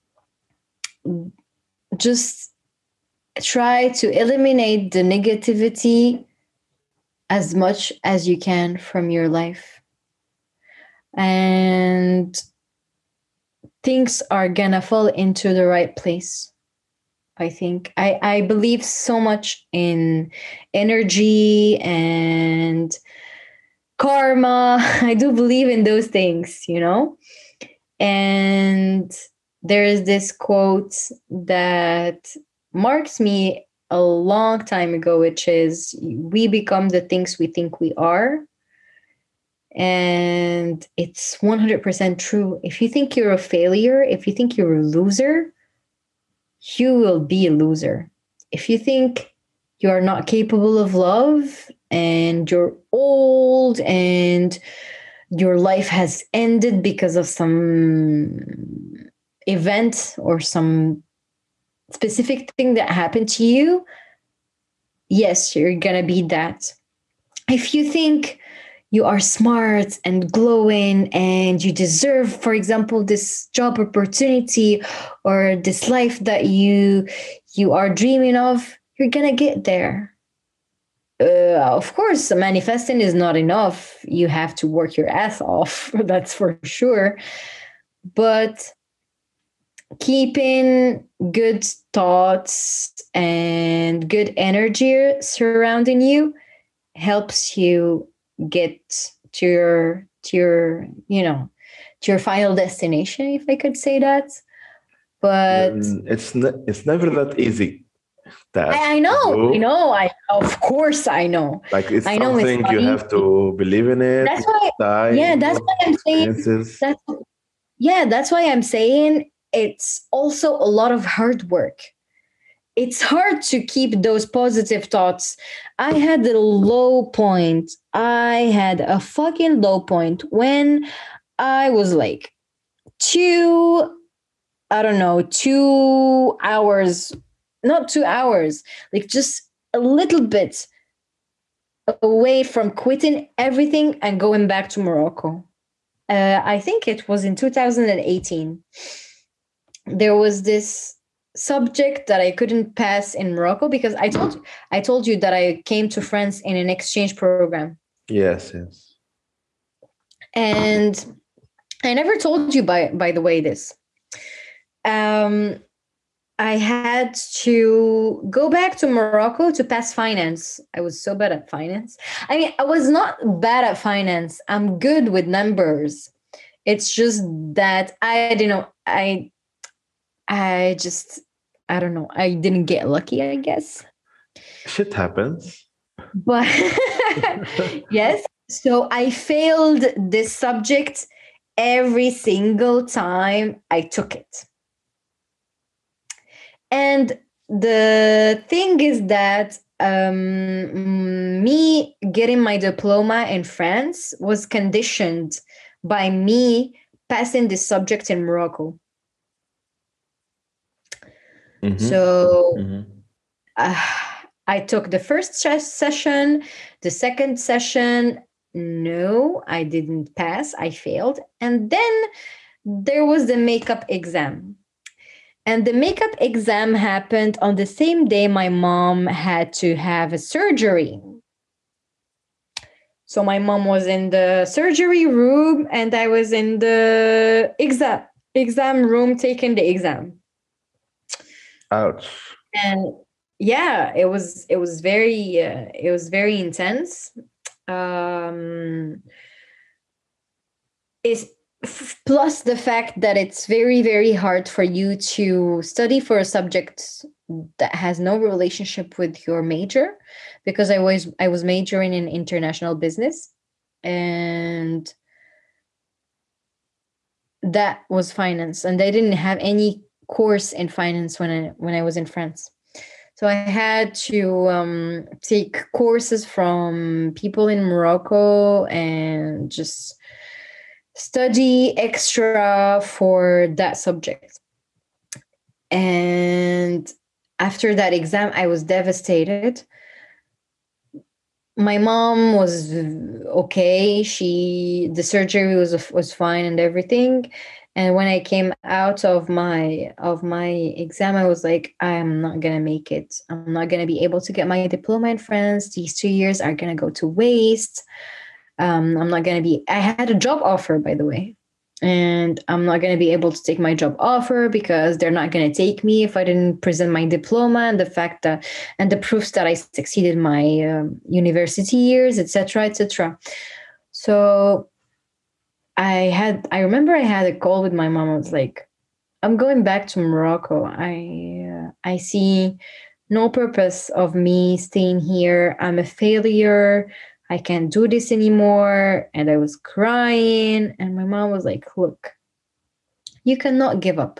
just try to eliminate the negativity as much as you can from your life. And things are gonna fall into the right place. I think I, I believe so much in energy and karma. I do believe in those things, you know? And there is this quote that marks me a long time ago, which is we become the things we think we are. And it's one hundred percent true. If you think you're a failure, if you think you're a loser, you will be a loser. If you think you are not capable of love and you're old and your life has ended because of some event or some specific thing that happened to you, yes, you're going to be that. If you think you are smart and glowing and you deserve, for example, this job opportunity or this life that you you are dreaming of, you're gonna get there. Uh, of course, manifesting is not enough. You have to work your ass off. That's for sure. But keeping good thoughts and good energy surrounding you helps you get to your to your you know to your final destination, if I could say that. But Mm, it's ne- it's never that easy task I, I to know, do. I know, I of course I know. Like it's I know it's something not you easy. have to believe in it. That's why, Time, yeah, that's why I'm saying experiences. that's yeah, that's why I'm saying it's also a lot of hard work. It's hard to keep those positive thoughts. I had a low point. I had a fucking low point when I was like two, I don't know, two hours, not two hours, like just a little bit away from quitting everything and going back to Morocco. Uh, I think it was in two thousand eighteen. There was this subject that I couldn't pass in Morocco because I told I told you that I came to France in an exchange program. Yes, yes. And I never told you by by the way this. Um I had to go back to Morocco to pass finance. I was so bad at finance. I mean, I was not bad at finance. I'm good with numbers. It's just that I didn't know I I just I don't know. I didn't get lucky, I guess. Shit happens. But yes, so I failed this subject every single time I took it. And the thing is that um, me getting my diploma in France was conditioned by me passing this subject in Morocco. Mhm. So Mhm. uh, I took the first ses- session, the second session. No, I didn't pass. I failed. And then there was the makeup exam. And the makeup exam happened on the same day my mom had to have a surgery. So my mom was in the surgery room and I was in the exam exam room taking the exam. Ouch. And yeah, it was it was very uh, it was very intense. Um is f- plus the fact that it's very very hard for you to study for a subject that has no relationship with your major, because i was i was majoring in international business, and that was finance, and they didn't have any course in finance when i when i was in France. So I had to um, take courses from people in Morocco and just study extra for that subject. And after that exam, I was devastated. My mom was okay. She the surgery was was fine and everything. And when I came out of my of my exam, I was like, I'm not gonna make it. I'm not gonna be able to get my diploma in France. These two years are gonna go to waste. Um, I'm not going to be, I had a job offer, by the way, and I'm not going to be able to take my job offer because they're not going to take me if I didn't present my diploma and the fact that, and the proofs that I succeeded my um, university years, et cetera, et cetera. So I had, I remember I had a call with my mom. I was like, I'm going back to Morocco. I, uh, I see no purpose of me staying here. I'm a failure. I can't do this anymore. And I was crying. And my mom was like, look, you cannot give up.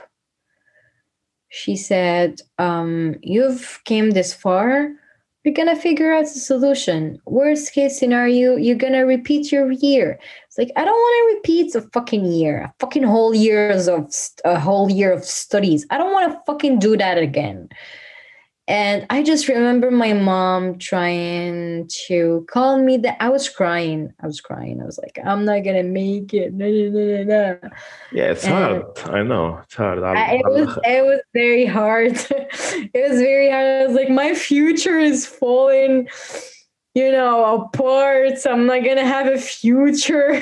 She said, um, you've came this far. We're going to figure out a solution. Worst case scenario, you're going to repeat your year. It's like, I don't want to repeat a fucking year, a fucking whole years of, a whole year of studies. I don't want to fucking do that again. And I just remember my mom trying to calm me that I was crying. I was crying. I was like, I'm not going to make it. No, no, no, no, no. Yeah, it's And hard. I know. It's hard. I, على- it على was الآخر. it was very hard. It was very hard. I was like, my future is falling, you know, apart. So I'm not going to have a future.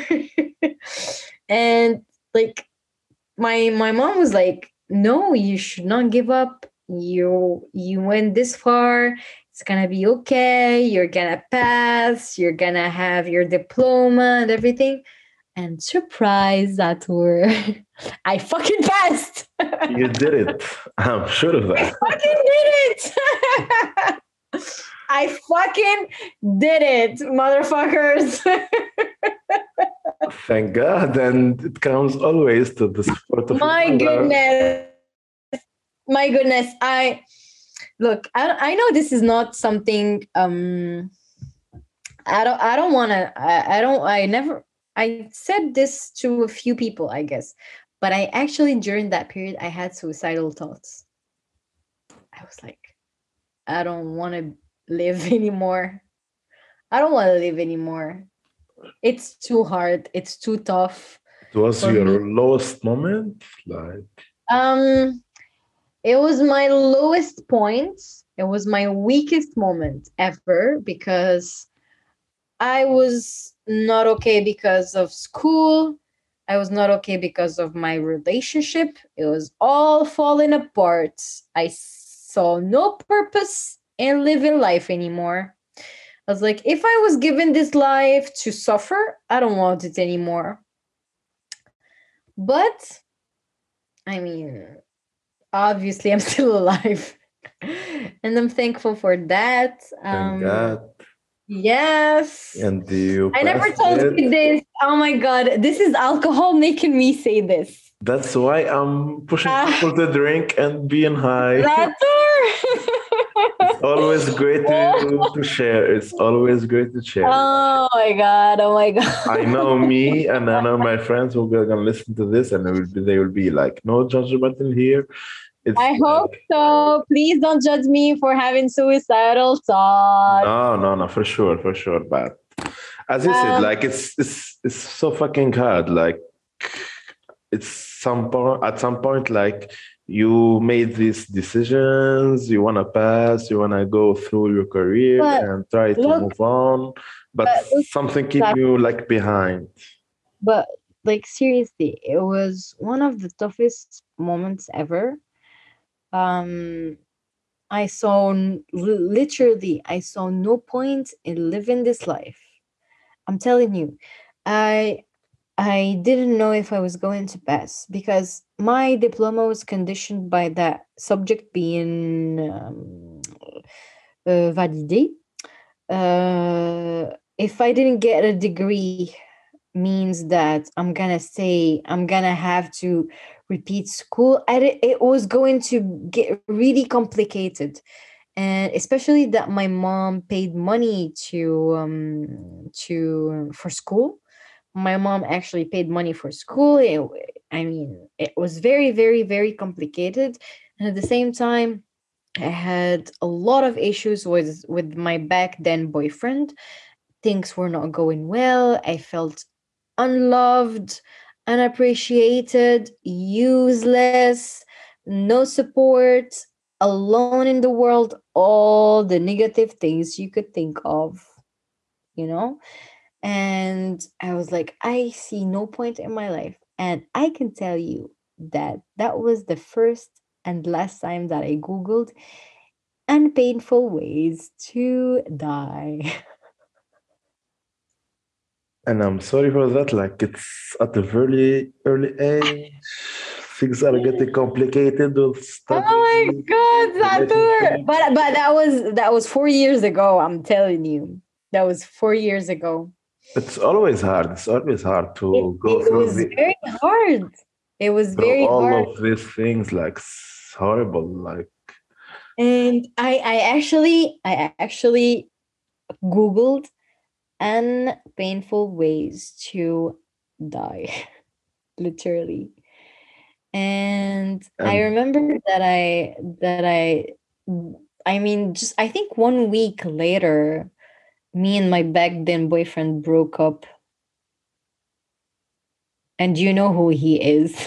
And like, my my mom was like, no, you should not give up. You you went this far. It's gonna be okay. You're gonna pass. You're gonna have your diploma and everything. And surprise, that were I fucking passed. You did it. I'm sure of that. Fucking did it. I fucking did it, motherfuckers. Thank God. And it comes always to the support of My your mother. goodness. My goodness. I look, I, I know this is not something um I don't I don't wanna I, I don't I never I said this to a few people, I guess. But I actually during that period I had suicidal thoughts. I was like, I don't wanna live anymore. I don't want to live anymore. It's too hard. It's too tough. It was For your me. lowest moment. Like, Um, it was my lowest point. It was my weakest moment ever because I was not okay because of school. I was not okay because of my relationship. It was all falling apart. I saw no purpose in living life anymore. I was like, if I was given this life to suffer, I don't want it anymore. But I mean, obviously, I'm still alive, and I'm thankful for that. thank Um, God. Yes. And you I never passed told it. you this. Oh my god, this is alcohol making me say this. That's why I'm pushing Ah. people to drink and being high. That's It's always great to, to share. It's always great to share. Oh my god! Oh my god! I know me and I know my friends who are gonna listen to this and they will be, they will be like, no judgmental here. It's I hope like, so. Please don't judge me for having suicidal thoughts. no, no, no, for sure, for sure. But as you said, Um, like it's it's it's so fucking hard. Like it's some point at some point, like you made these decisions, you wanna pass, you wanna go through your career but and try to look, move on, but but look, something keep that, you like behind. but like seriously, it was one of the toughest moments ever. Um, I saw n- li- literally, I saw no point in living this life. I'm telling you, I I didn't know if I was going to pass because my diploma was conditioned by that subject being um, uh, validé. Uh, if I didn't get a degree, means that I'm gonna say I'm gonna have to repeat school. I, di- it was going to get really complicated, and especially that my mom paid money to um to for school. My mom actually paid money for school. It, I mean, it was very, very, very complicated. And at the same time, I had a lot of issues with with my back then boyfriend. Things were not going well. I felt unloved, unappreciated, useless, no support, alone in the world, all the negative things you could think of, you know? And I was like, I see no point in my life. And I can tell you that that was the first and last time that I Googled unpainful ways to die. And I'm sorry for that. Like it's at a very early age. Things are getting complicated with Oh my study, god, Satur! relationship. But but that was that was four years ago, I'm telling you. That was four years ago. It's always hard. It's always hard It to go it through was the very hard. It was through very all hard. of these things. Like it's horrible. Like And I I actually I actually Googled unpainful ways to die. Literally. And I and remember that I that I I mean just I think one week later me and my back then boyfriend broke up, and you know who he is.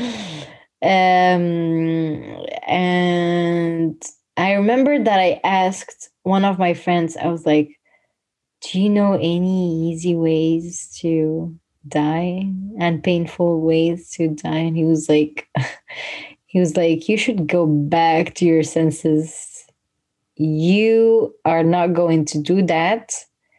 um and I remember that I asked one of my friends, I was like, do you know any easy ways to die and painful ways to die? And he was like, he was like, you should go back to your senses. You are not going to do that.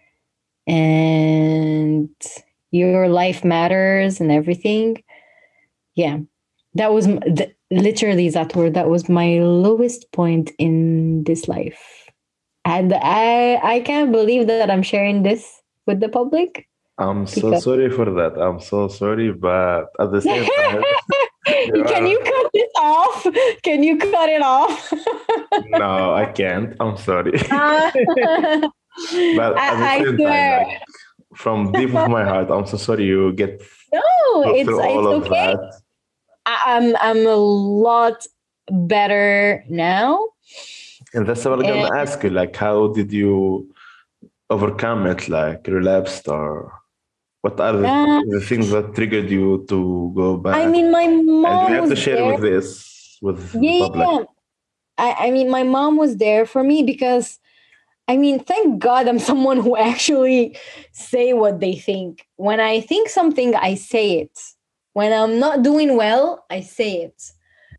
And your life matters and everything. Yeah. That was m- th- literally that word. That was my lowest point in this life. And I I can't believe that I'm sharing this with the public I'm so because sorry for that. I'm so sorry, but at the same time, you can are you cut this off? Can you cut it off? no, I can't. I'm sorry. Uh, But at the I, I same time, swear. like from deep of my heart, I'm so sorry you get No, go it's through all it's of okay. that. I, I'm I'm a lot better now. And that's what I'm And gonna ask you. Like, how did you overcome it? Like, relapsed, or what are the, uh, the things that triggered you to go I back? mean, my And we mom have to was share there. with this with the Yeah, public. yeah. I, I mean, my mom was there for me because I mean, thank God I'm someone who actually say what they think. When I think something, I say it. When I'm not doing well, I say it.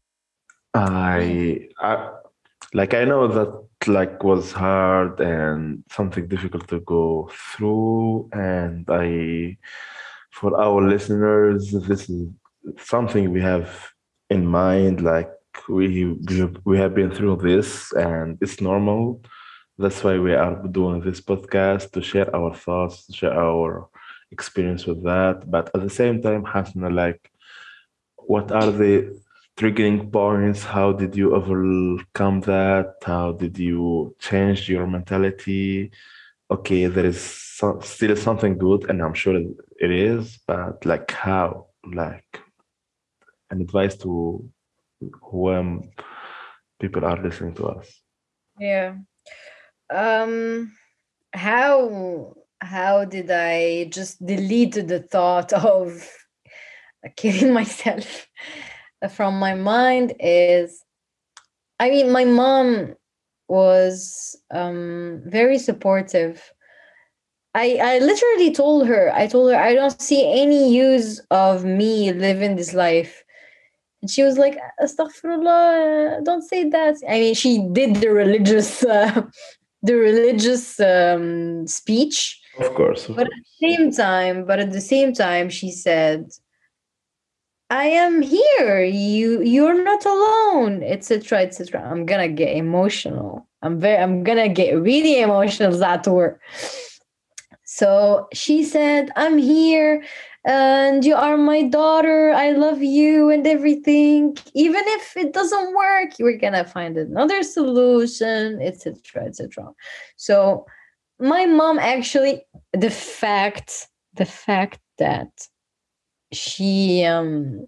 I, I like I know that like was hard and something difficult to go through, and I for our listeners, this is something we have in mind. Like we we we have been through this, and it's normal. That's why we are doing this podcast to share our thoughts, to share our experience with that. But at the same time, Hasna, like, what are the triggering points? How did you overcome that? How did you change your mentality? Okay, there is so, still something good, and I'm sure it is, but like how? Like an advice to when people are listening to us. Yeah. Um how how did I just delete the thought of killing myself from my mind is, I mean, my mom was um very supportive. I, I literally told her, I told her, I don't see any use of me living this life. And she was like, Astaghfirullah, don't say that. I mean, she did the religious, uh, the religious um, speech. Of course, of But at course. the same time, but at the same time, she said, I am here. You you're not alone, et cetera, et cetera. I'm gonna get emotional. I'm very I'm gonna get really emotional that word. So she said, I'm here and you are my daughter. I love you and everything. Even if it doesn't work, we're gonna find another solution, et cetera, et cetera. So my mom actually, the fact, the fact that she um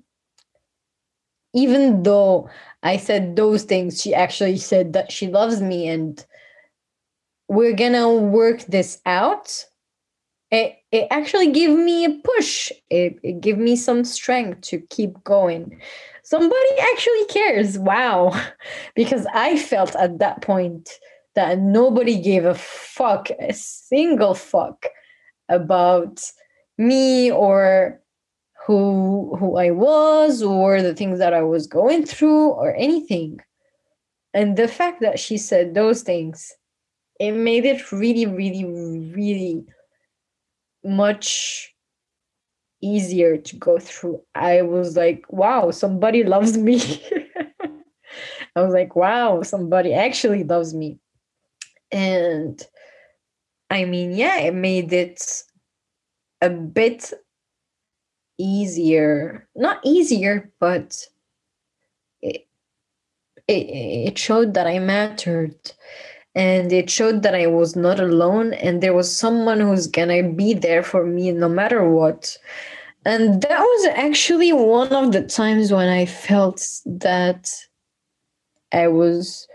even though I said those things, she actually said that she loves me and we're gonna work this out. It, it actually gave me a push. It, it gave me some strength to keep going. Somebody actually cares. Wow. Because I felt at that point that nobody gave a fuck, a single fuck about me or who who I was or the things that I was going through or anything. And the fact that she said those things, it made it really, really, really much easier to go through. I was like, wow, somebody loves me. I was like, wow, somebody actually loves me. And I mean, yeah, it made it a bit easier. Not easier, but it, it, it showed that I mattered. And it showed that I was not alone and there was someone who's gonna be there for me no matter what. And that was actually one of the times when I felt that I was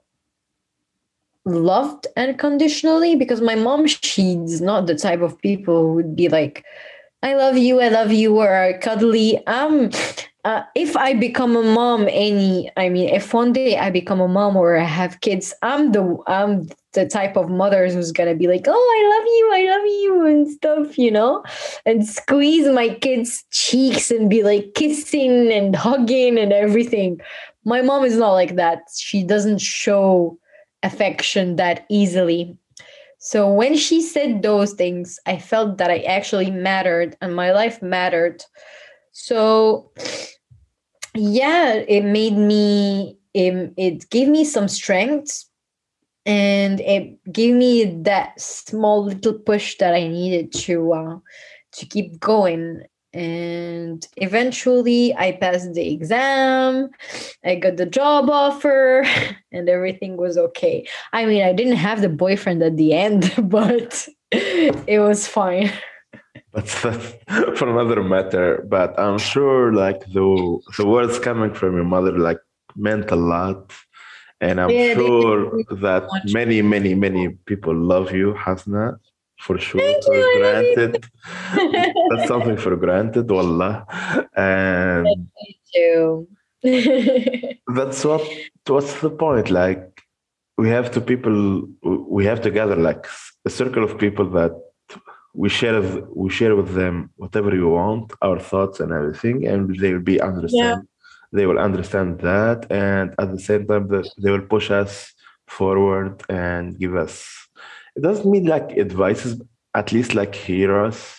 loved unconditionally, because my mom, she's not the type of people who would be like, I love you, I love you, or are cuddly. Um, uh, if I become a mom, any, I mean, if one day I become a mom or I have kids, I'm the I'm the type of mother who's gonna be like, oh, I love you, I love you, and stuff, you know, and squeeze my kids' cheeks and be like kissing and hugging and everything. My mom is not like that. She doesn't show affection that easily. So when she said those things, I felt that I actually mattered and my life mattered. So yeah, it made me, it, it gave me some strength and it gave me that small little push that I needed to uh, to keep going. And eventually I passed the exam, I got the job offer, and everything was okay. I mean, I didn't have the boyfriend at the end, but it was fine. That's, that's for another matter. But I'm sure, like the the words coming from your mother, like meant a lot, and I'm Yeah, they sure did that much. many, many, many people love you, Hasna, for sure. Thank For you, I granted, love that's something for granted, wallah. And you. that's what what's the point? Like we have to people, we have to gather like a circle of people that we share we share with them whatever we want, our thoughts and everything, and they will be Yeah. understand. They will understand that, and at the same time, that they will push us forward and give us. It doesn't mean like advices, at least like hear us.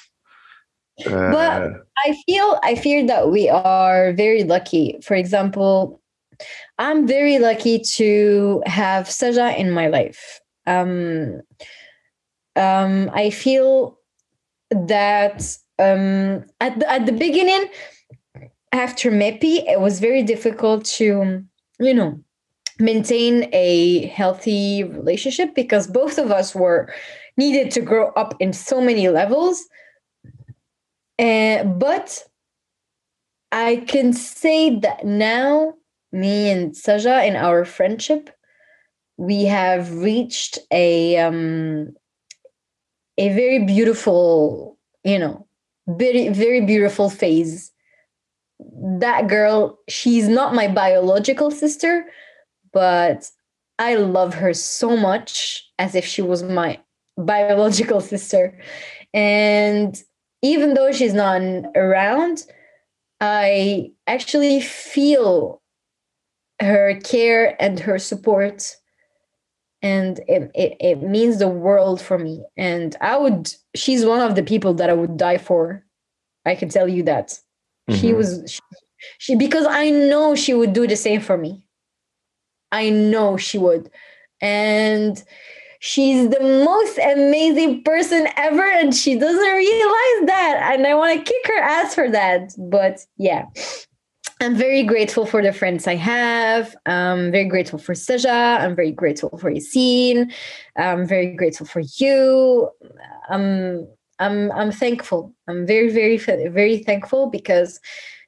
But Uh, I feel I feel that we are very lucky. For example, I'm very lucky to have Saja in my life. Um, um, I feel that um, at the, at the beginning, after Mepi, it was very difficult to, you know, maintain a healthy relationship because both of us were needed to grow up in so many levels. Uh, but I can say that now me and Saja in our friendship, we have reached a um, a very beautiful, you know, very very beautiful phase. That girl, she's not my biological sister, but I love her so much as if she was my biological sister. And even though she's not around, I actually feel her care and her support. And it, it, it means the world for me. And I would, she's one of the people that I would die for. I can tell you that. She Mhm. was, she, she, because I know she would do the same for me. I know she would. And she's the most amazing person ever, and she doesn't realize that. And I want to kick her ass for that. But yeah, I'm very grateful for the friends I have. I'm very grateful for Saja. I'm very grateful for Yassine. I'm very grateful for you. I'm I'm I'm thankful. I'm very very very thankful because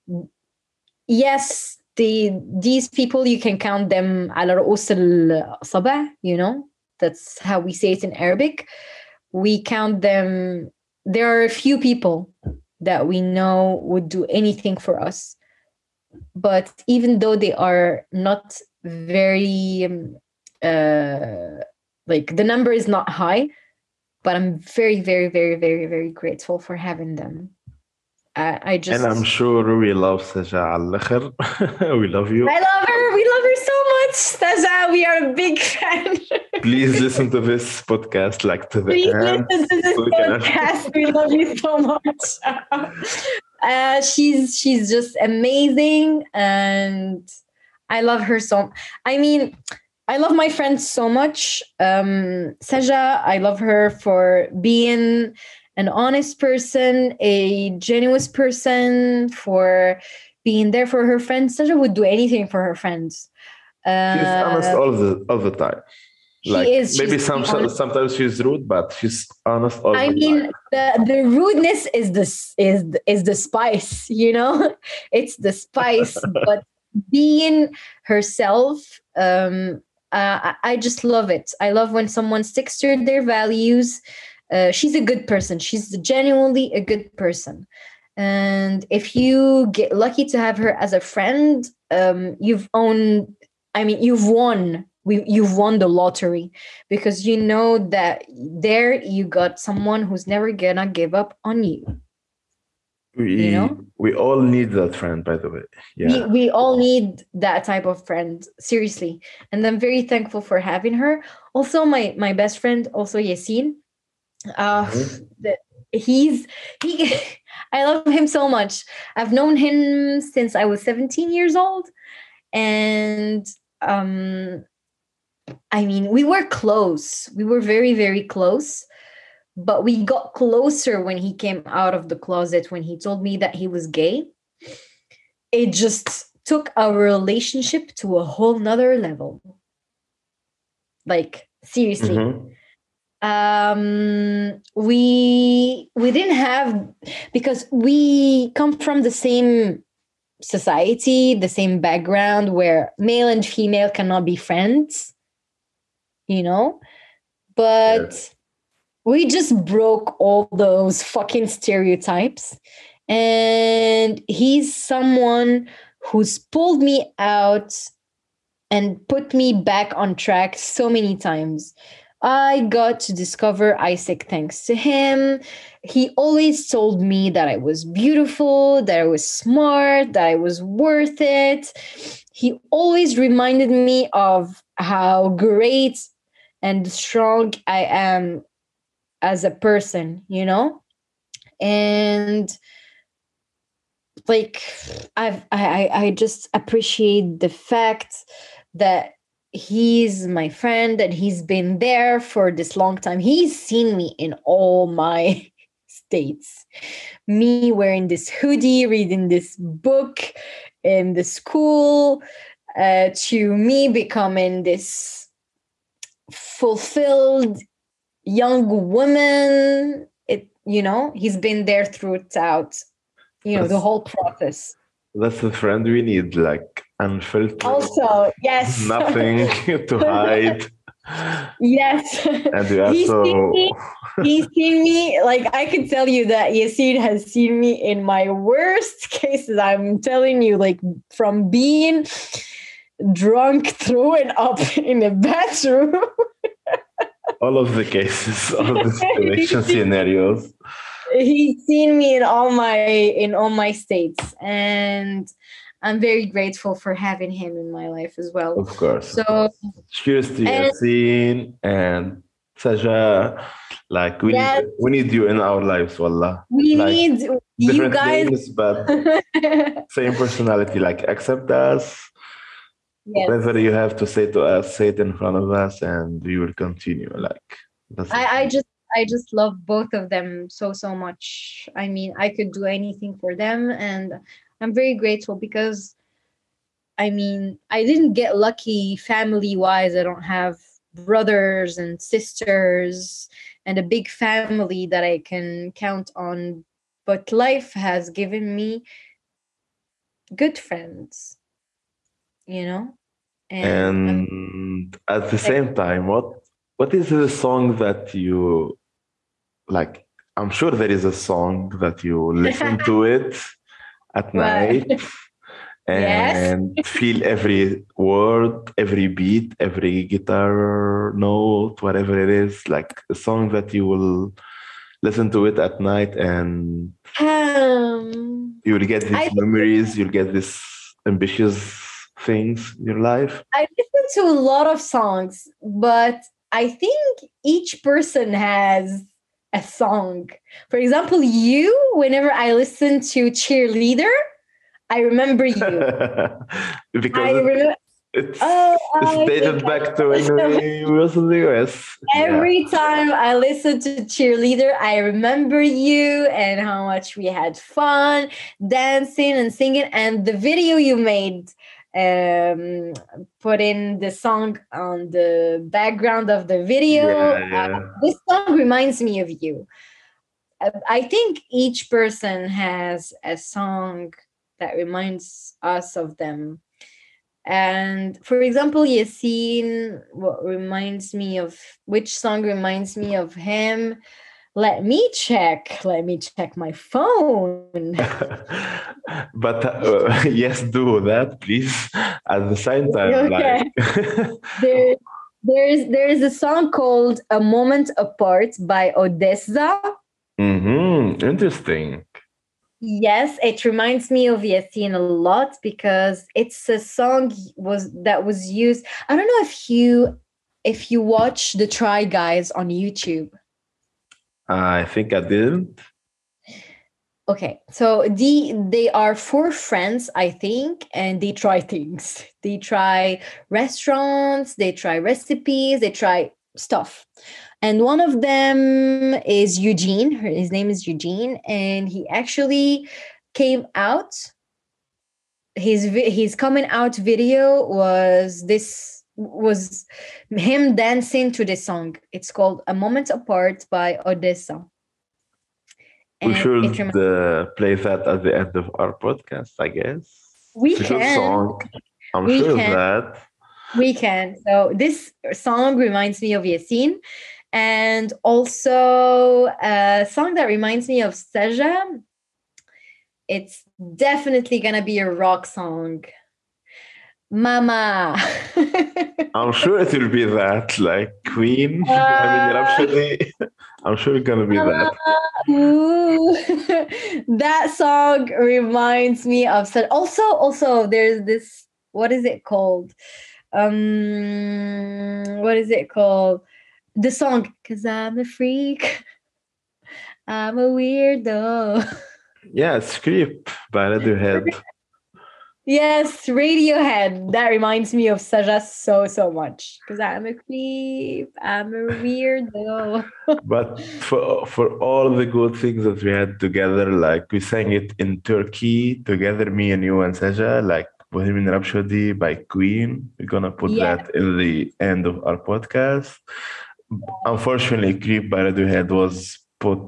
yes, the these people you can count them على رؤوس الأصابع, you know. That's how we say it in Arabic. We count them. There are a few people that we know would do anything for us. But even though they are not very, um, uh, like the number is not high, but I'm very, very, very, very, very grateful for having them. I, I just. And I'm sure we love Saja على الآخر. We love you. I love her. We love her so much. Saja, we are a big fan. Please listen to this podcast like to the Please end. listen to this so we can- podcast. We love you so much. uh, she's she's just amazing, and I love her so. I mean, I love my friend so much. Um, Saja, I love her for being an honest person, a genuine person, for being there for her friends. Saja would do anything for her friends. Uh, She's honest all the all the time. she Like is. maybe She's some honest. sometimes she's rude, but she's honest all I the mean, time. the the rudeness is the s- is is the spice, you know. It's the spice, but being herself, um, uh, I I just love it. I love when someone sticks to their values. Uh, she's a good person. She's genuinely a good person. And if you get lucky to have her as a friend, um, you've owned. I mean, you've won. We, you've won the lottery, because you know that there you got someone who's never gonna give up on you. We You know? we all need that friend, by the way. We, Yeah. we all need that type of friend, seriously. And I'm very thankful for having her. Also, my my best friend, also Yassine. Uh, Mhm. the, he's he. I love him so much. I've known him since I was seventeen years old, and um, I mean, we were close. We were very very close. But we got closer when he came out of the closet, when he told me that he was gay. It just took our relationship to a whole nother level. Like, seriously. Mhm. Um, we we didn't have, because we come from the same society, the same background, where male and female cannot be friends, you know? But Yes. we just broke all those fucking stereotypes. And he's someone who's pulled me out and put me back on track so many times. I got to discover Isaac thanks to him. He always told me that I was beautiful, that I was smart, that I was worth it. He always reminded me of how great and strong I am as a person, you know? And like I've I I just appreciate the fact that he's my friend and he's been there for this long time. He's seen me in all my states. Me wearing this hoodie, reading this book in the school, uh, to me becoming this fulfilled young woman. It, you know, he's been there throughout, you know, the That's- whole process. that's the friend we need, like unfiltered, Also, yes. nothing to hide. Yes. And we are He's seen so me. He's seen me. Like I can tell you that Yassine has seen me in my worst cases. I'm telling you, like from being drunk, throwing up in a bathroom. all of the cases, all of the situation scenarios. He's seen me in all my in all my states, and I'm very grateful for having him in my life as well. Of course. So of course. Cheers to and- Yassine and Saja. Like we Yes. need we need you in our lives, wallah. we Like, need you Different guys. names, but same personality. Like accept us. Yes. Whatever you have to say to us, say it in front of us, and we will continue. Like that's I, I just I just love both of them so so much. I mean, I could do anything for them, and I'm very grateful because I mean, I didn't get lucky family wise. I don't have brothers and sisters and a big family that I can count on, but life has given me good friends, you know? And I'm and at the same time, what what is the song that you like? I'm sure there is a song that you listen to it at What? night Yes. and feel every word, every beat, every guitar note, whatever it is, like a song that you will listen to it at night and Um, you will get these I- memories, you'll get these ambitious things in your life. I listen to a lot of songs, but I think each person has a song. For example, you, whenever I listen to Cheerleader, I remember you. because I it- remember it's, Oh, it's I dated think back to when we was in the U S. every time I listen to Cheerleader, I remember you and how much we had fun dancing and singing. And the video you made, um, putting the song on the background of the video. Yeah, yeah. Uh, this song reminds me of you. Uh, I think each person has a song that reminds us of them. And for example, Yassine, what reminds me of which song reminds me of him? Let me check. Let me check my phone. But uh, yes, do that, please. At the same time, Okay. like There, there's there's a song called "A Moment Apart" by Odessa. Mhm, interesting. Yes, it reminds me of Yassine a lot because it's a song was that was used. I don't know if you if you watch the Try Guys on YouTube. I think I didn't. Okay, so the they are four friends, I think, and they try things. They try restaurants, they try recipes, they try stuff. And one of them is Eugene. Her- His name is Eugene, and he actually came out. His vi- his coming out video was this was him dancing to this song. It's called "A Moment Apart" by Odessa. We And should it reminds uh, play that at the end of our podcast, I guess. We It's a good can. song. I'm We sure can. of that. We can. So this song reminds me of Yassine, and also a song that reminds me of Saja. It's definitely gonna be a rock song. Mama. I'm sure it will be that, like Queen. I mean, Uh, Rhapsody. I'm sure it's gonna be that. Ooh. That song reminds me of such. Also, also, there's this. What is it called? Um, what is it called? The song, "Cause I'm a freak, I'm a weirdo." Yeah, it's Creep by Radiohead. Yes, Radiohead. That reminds me of Saja so so much. Cause I'm a creep, I'm a weirdo. But for for all the good things that we had together, like we sang it in Turkey together, me and you and Saja, like Bohemian Rhapsody by Queen. We're gonna put Yeah. that in the end of our podcast. Unfortunately, Creep by Radiohead was put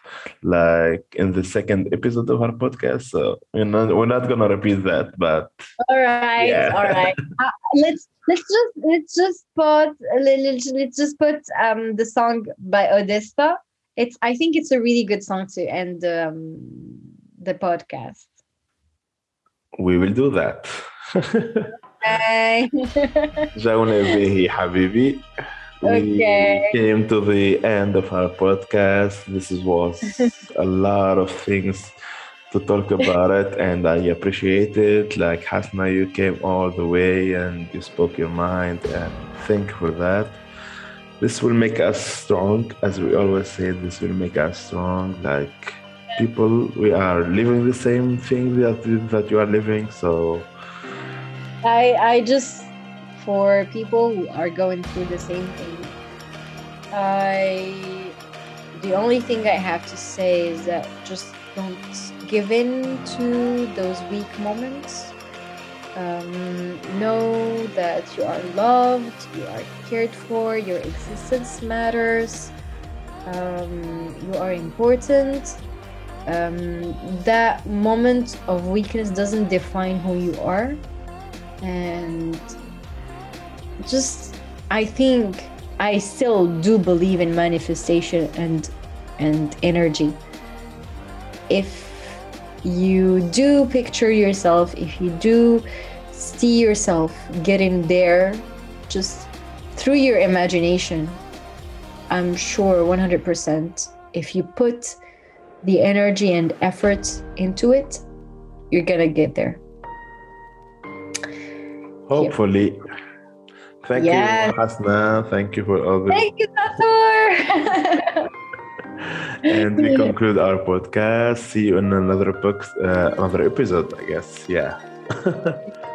like in the second episode of our podcast. So you know, we're not gonna repeat that, but All right, Yeah. all right. Uh, let's let's just let's just put let's, let's just put um the song by Odessa. It's I think it's a really good song to end um, the podcast. we will do that. Okay. جاونا به حبيبي. We Okay. came to the end of our podcast. This is- was a lot of things to talk about it, and I appreciate it. Like Hasna, you came all the way and you spoke your mind, and thank you for that. This will make us strong, as we always say. This will make us strong. Like people, we are living the same thing that that you are living. So I I just for people who are going through the same thing, I the only thing I have to say is that just don't give in to those weak moments. Um, know that you are loved, you are cared for, your existence matters, um, you are important. Um, that moment of weakness doesn't define who you are. And just, I think I still do believe in manifestation and and energy. If you do picture yourself, if you do see yourself getting there just through your imagination, I'm sure one hundred percent if you put the energy and effort into it, you're gonna get there. hopefully, thank Yes. you, Hasna. Thank you for all this. Thank you, Tatur. And we conclude our podcast. See you in another book, uh, another episode, I guess. Yeah.